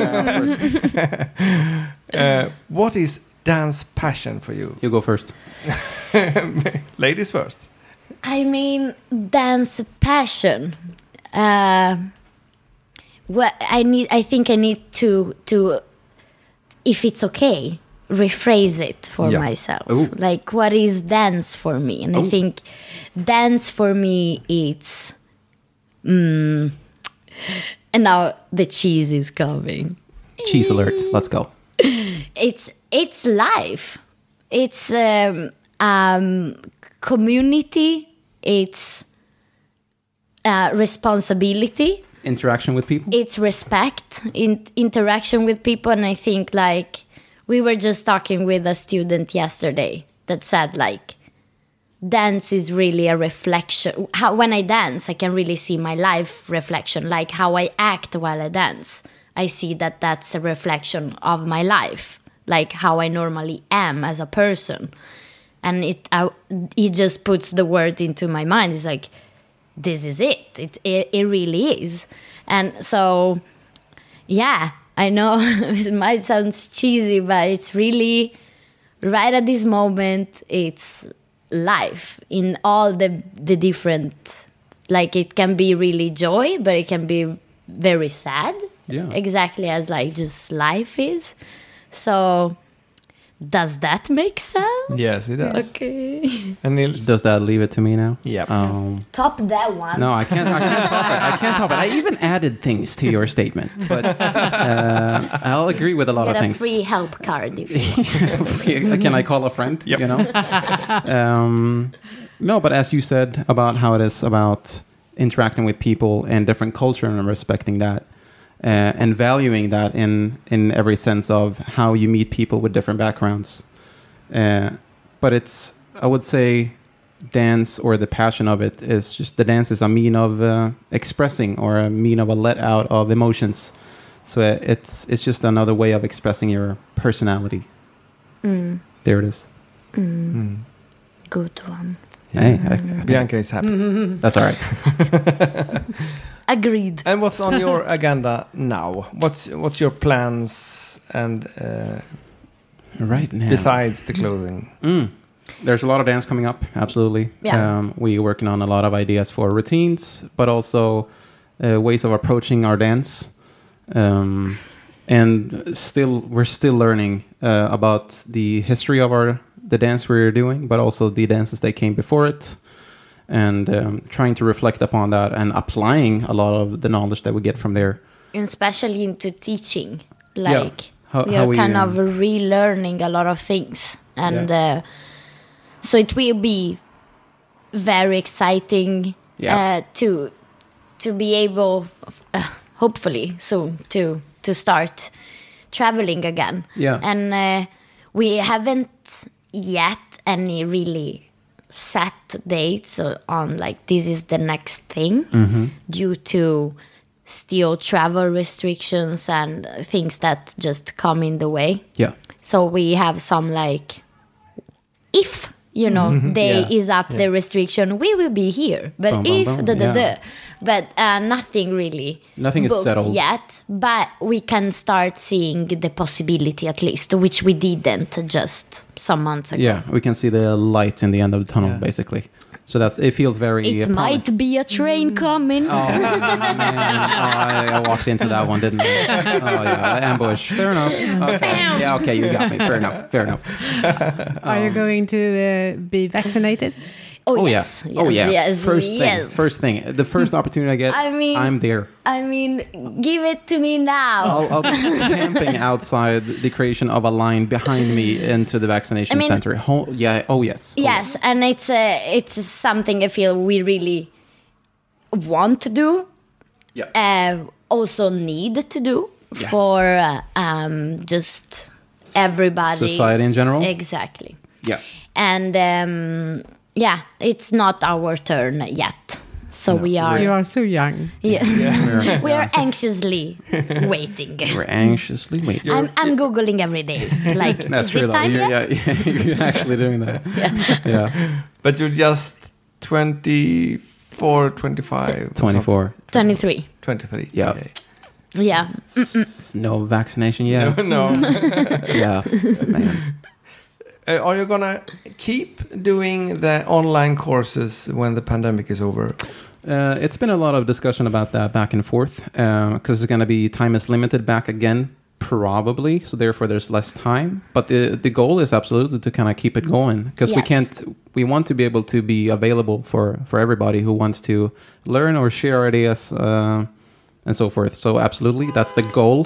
What is dance passion for you? You go first. Ladies first. I mean, dance passion. I think I need to, if it's okay, rephrase it for myself. Ooh. Like, what is dance for me? And I think dance for me, it's... and now the cheese is coming. Cheese alert. Let's go. It's life. It's community. It's responsibility. Interaction with people. It's respect, interaction with people. And I think like we were just talking with a student yesterday that said like dance is really a reflection. When I dance, I can really see my life reflection, like how I act while I dance. I see that that's a reflection of my life, like how I normally am as a person. And it just puts the word into my mind. It's like, this is it. It really is. And so, yeah, I know it might sound cheesy, but it's really right at this moment, it's life in all the different, like it can be really joy, but it can be very sad. Yeah. Exactly as like just life is. So does that make sense? Yes, it does. Okay. And Nils? Does that leave it to me now? Yeah. Top that one. No, I can't top it. I can't top it. I even added things to your statement, but I'll agree with a lot Get of a things. free help card if you want. Can I call a friend? Yep. You know. No, but as you said about how it is about interacting with people and different culture and respecting that, and valuing that in every sense of how you meet people with different backgrounds. But it's, I would say, dance or the passion of it is just the dance is a mean of expressing or a mean of a let out of emotions. So it's just another way of expressing your personality. There it is. Good one. Hey, Bianca is happy. that's all right. Agreed. And what's on your agenda now? What's your plans and Right now. besides the clothing? There's a lot of dance coming up, absolutely. Yeah. We're working on a lot of ideas for routines, but also ways of approaching our dance. And we're still learning about the history of the dance we're doing, but also the dances that came before it, and trying to reflect upon that and applying a lot of the knowledge that we get from there. And especially into teaching. Like, How we are we, kind of relearning a lot of things. And so it will be very exciting to be able, hopefully soon, to start traveling again. Yeah. And we haven't yet any really set dates on like this is the next thing due to still travel restrictions and things that just come in the way. Yeah. So we have some like, if day is up the restriction, we will be here. But Boom, boom, if boom. but nothing really Nothing is booked settled yet. But we can start seeing the possibility at least, which we didn't just some months ago. Yeah, we can see the light in the end of the tunnel, basically. So it feels very. It might promising. be a train coming. Oh, man. I walked into that one, didn't I? Oh, yeah. Ambush. Fair enough. Okay. Yeah, okay, you got me. Fair enough. Are you going to be vaccinated? Oh, Yeah. yes. Oh, yeah. Yes, First thing. The first opportunity I get, I mean- I'm there. I mean, give it to me now. I'll be camping outside the creation of a line behind me into the vaccination center. Yes. Oh, Yes, and it's something I feel we really want to do. Yeah. Also need to do for just everybody. Society in general. Exactly. Yeah. And it's not our turn yet. So we are. You are so young. Yeah. We are anxiously waiting. We're anxiously waiting. I'm googling every day. Like, That's is true, it though. time yet? You're actually doing that. Yeah. But you're just 24, 25. 24. 23. 23. Yeah. Okay. Yeah. No vaccination yet. No. Yeah. Man. Are you gonna keep doing the online courses when the pandemic is over? It's been a lot of discussion about that back and forth because it's going to be time is limited back again, probably. So therefore, there's less time. But the goal is absolutely to kind of keep it going because we want to be able to be available for everybody who wants to learn or share ideas and so forth. So absolutely, that's the goal.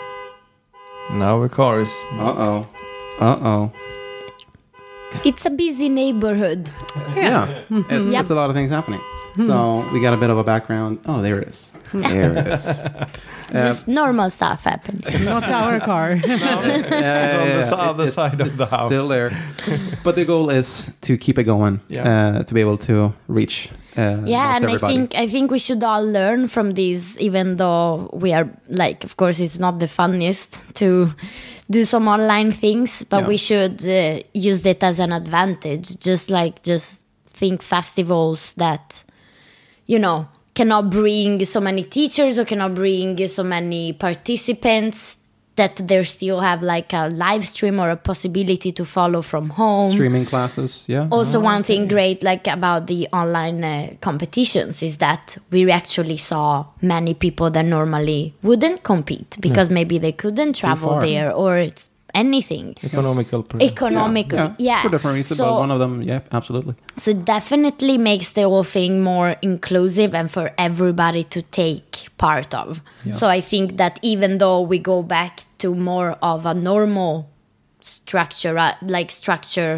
Now the car is. Uh-oh. It's a busy neighborhood. Yeah. It's a lot of things happening. So we got a bit of a background. Oh, there it is. There it is. Just normal stuff happening. Not our car. It's on the other side of the house. Still there. But the goal is to keep it going, to be able to reach and everybody. I think we should all learn from this, even though we are like, of course, it's not the funniest to do some online things, but we should use it as an advantage. Just think festivals that, cannot bring so many teachers or cannot bring so many participants, that they still have like a live stream or a possibility to follow from home. Streaming classes, yeah. Also, one thing great like about the online competitions is that we actually saw many people that normally wouldn't compete because maybe they couldn't travel there or it's anything. Economical. Yeah. For different reasons, but one of them, absolutely. So it definitely makes the whole thing more inclusive and for everybody to take part of. Yeah. So I think that even though we go back to more of a normal structure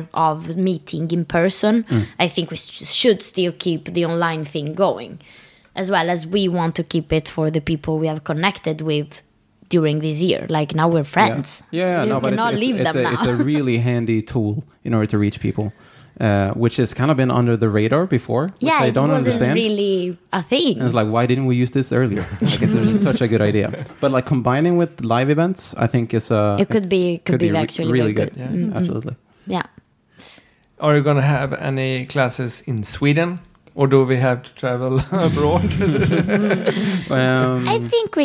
of meeting in person, I think we should still keep the online thing going. as well as we want to keep it for the people we have connected with during this year. Like now we're friends. Yeah, You no, but cannot leave them now. it's a really handy tool in order to reach people, which has kind of been under the radar before, which Yeah, I it don't wasn't understand. really a thing. And it's like, why didn't we use this earlier? Like, it's such a good idea. But like combining with live events, I think is It could be actually really very good. good. Yeah. Absolutely. Yeah. Are you going to have any classes in Sweden? Or do we have to travel abroad? I think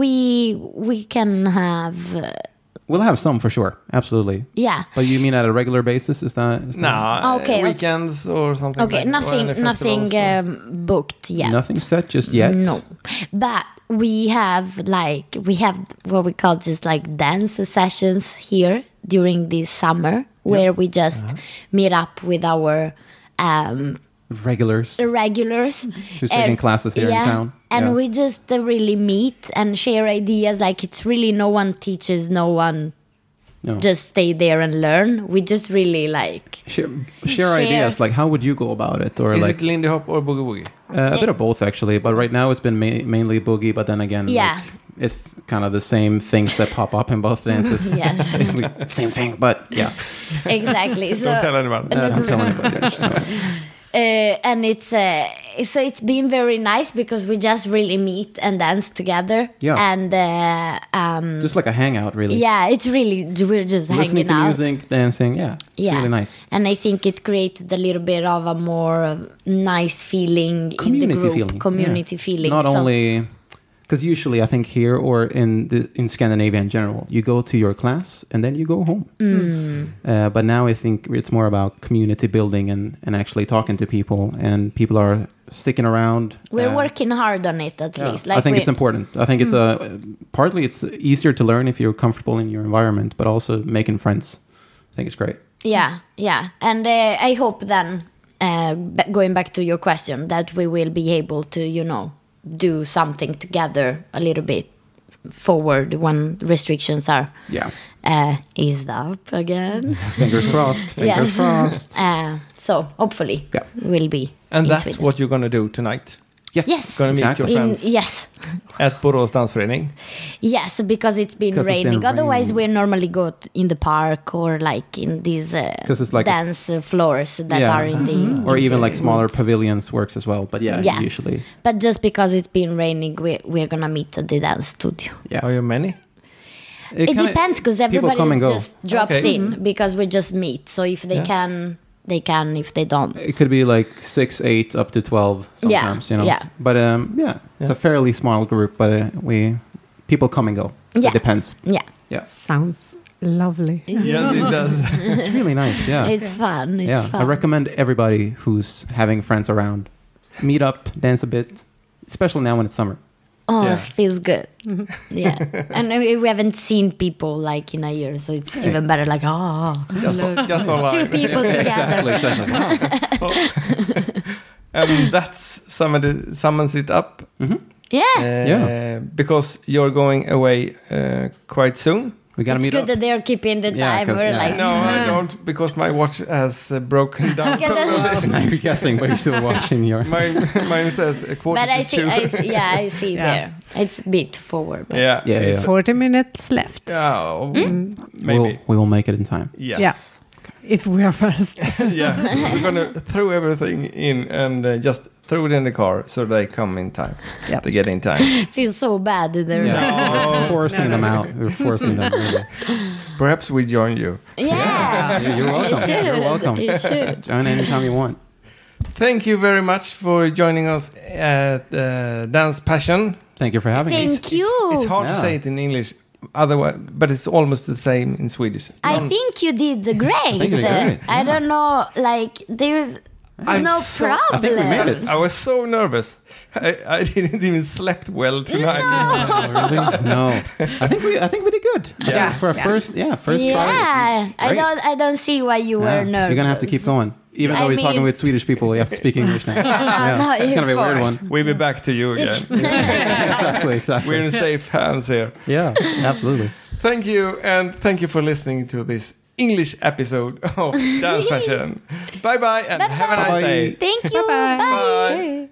we can have We'll have some for sure. Absolutely. yeah. But you mean at a regular basis? Is that No, Okay. weekends or something. Okay, like, or any nothing festivals or- booked yet. nothing set just yet? No, but we have what we call just like dance sessions here during this summer, where we just meet up with our Regulars regulars who's taking classes here in town. and Yeah. we just really meet and share ideas. Like it's really no one teaches, no one No. just stay there and learn. We just really like share ideas. Like, how would you go about it? Or Is like it Lindy Hop or Boogie Woogie? a bit of both, actually. But right now, it's been mainly boogie. But then again, Yeah. like, it's kind of the same things that pop up in both dances. Yes. Basically, same thing. But yeah, exactly. So Don't tell anyone. don't tell anybody. and it's been very nice because we just really meet and dance together. Yeah. And Just like a hangout, really. yeah, it's really we're just Listening hanging to out. music, dancing. Yeah, it's Yeah, really nice. And I think it created a little bit of a more nice feeling in the Community group, feeling. community Yeah. feeling. Not So- only because usually I think here or in Scandinavia in general, you go to your class and then you go home. But now I think it's more about community building and actually talking to people, and people are sticking around. We're working hard on it at least. I think it's important. I think it's partly it's easier to learn if you're comfortable in your environment, but also making friends. I think it's great. Yeah. And I hope then, going back to your question, that we will be able to, do something together a little bit forward when restrictions are eased up again. Fingers crossed. Fingers crossed. So hopefully Yeah. we'll be And in that's Sweden. what you're going to do tonight. Yes. Gonna meet your friends Yes. at Borås Dansförening. Yes, because it's been Because it's raining. been Otherwise, raining. we normally go in the park or like in these 'Cause it's like a dance floors that are in the or in even the like smaller woods. pavilions works as well. But yeah. Usually, But just because it's been raining, we're gonna meet at the dance studio. yeah. Are you many? It depends because people come and everybody go. just drops Okay. in because we just meet. So if they Yeah. can, they can. If they don't, It could be like 6, 8, up to 12 sometimes, Yeah. But it's a fairly small group, but people come and go. So Yeah. it depends. yeah, Sounds lovely. Yes, it does. It's really nice, yeah. it's fun. It's yeah, fun. I recommend everybody who's having friends around, meet up, dance a bit, especially now when it's summer. Oh, Yeah. it feels good. Yeah, and we haven't seen people like in a year, so it's even better. Like, Just online. two people together. Exactly. Wow. And that summons it up. Yeah, Because you're going away quite soon. We gotta it's meet good up. that they're keeping the Yeah, time. 'cause- We're yeah. like, No, I don't, because my watch has broken down. Okay, that's- Now you're guessing, but you're still watching your. Mine says a quarter but I to see, two. I see Yeah. there. It's a bit forward. But Yeah. 40 minutes left. Yeah, maybe. We will make it in time. Yes. Yeah. If we are fast. Yeah. We're going to throw everything in and just throw it in the car so they come in time. Yep. To get in time. feels so bad. They're like, We're forcing them out. We're forcing them. Really. Perhaps we join you. yeah, You're welcome. It should. You're welcome. It should. Join anytime you want. Thank you very much for joining us at Dance Passion. Thank you for having us. Thank you. It's hard to Yeah. say it in English, otherwise, but it's almost the same in Swedish. I think you did great. think you did great, I don't know, like there's I'm no so- problem. I think we made it. I was so nervous. I didn't even slept well tonight. Oh, really? No. I think we did good. Yeah. For a first try. Yeah, Great. I don't see why you were nervous. You're gonna have to keep going. Even though I we're talking mean- with Swedish people, we have to speak English now. No, It's gonna be a weird one. forced. We'll be back to you again. Exactly. We're in safe hands here. Yeah, absolutely. Thank you, and thank you for listening to this English episode of Dance Passion. Bye bye, and have a nice Bye-bye. day. Thank you. Bye-bye. Bye. Bye.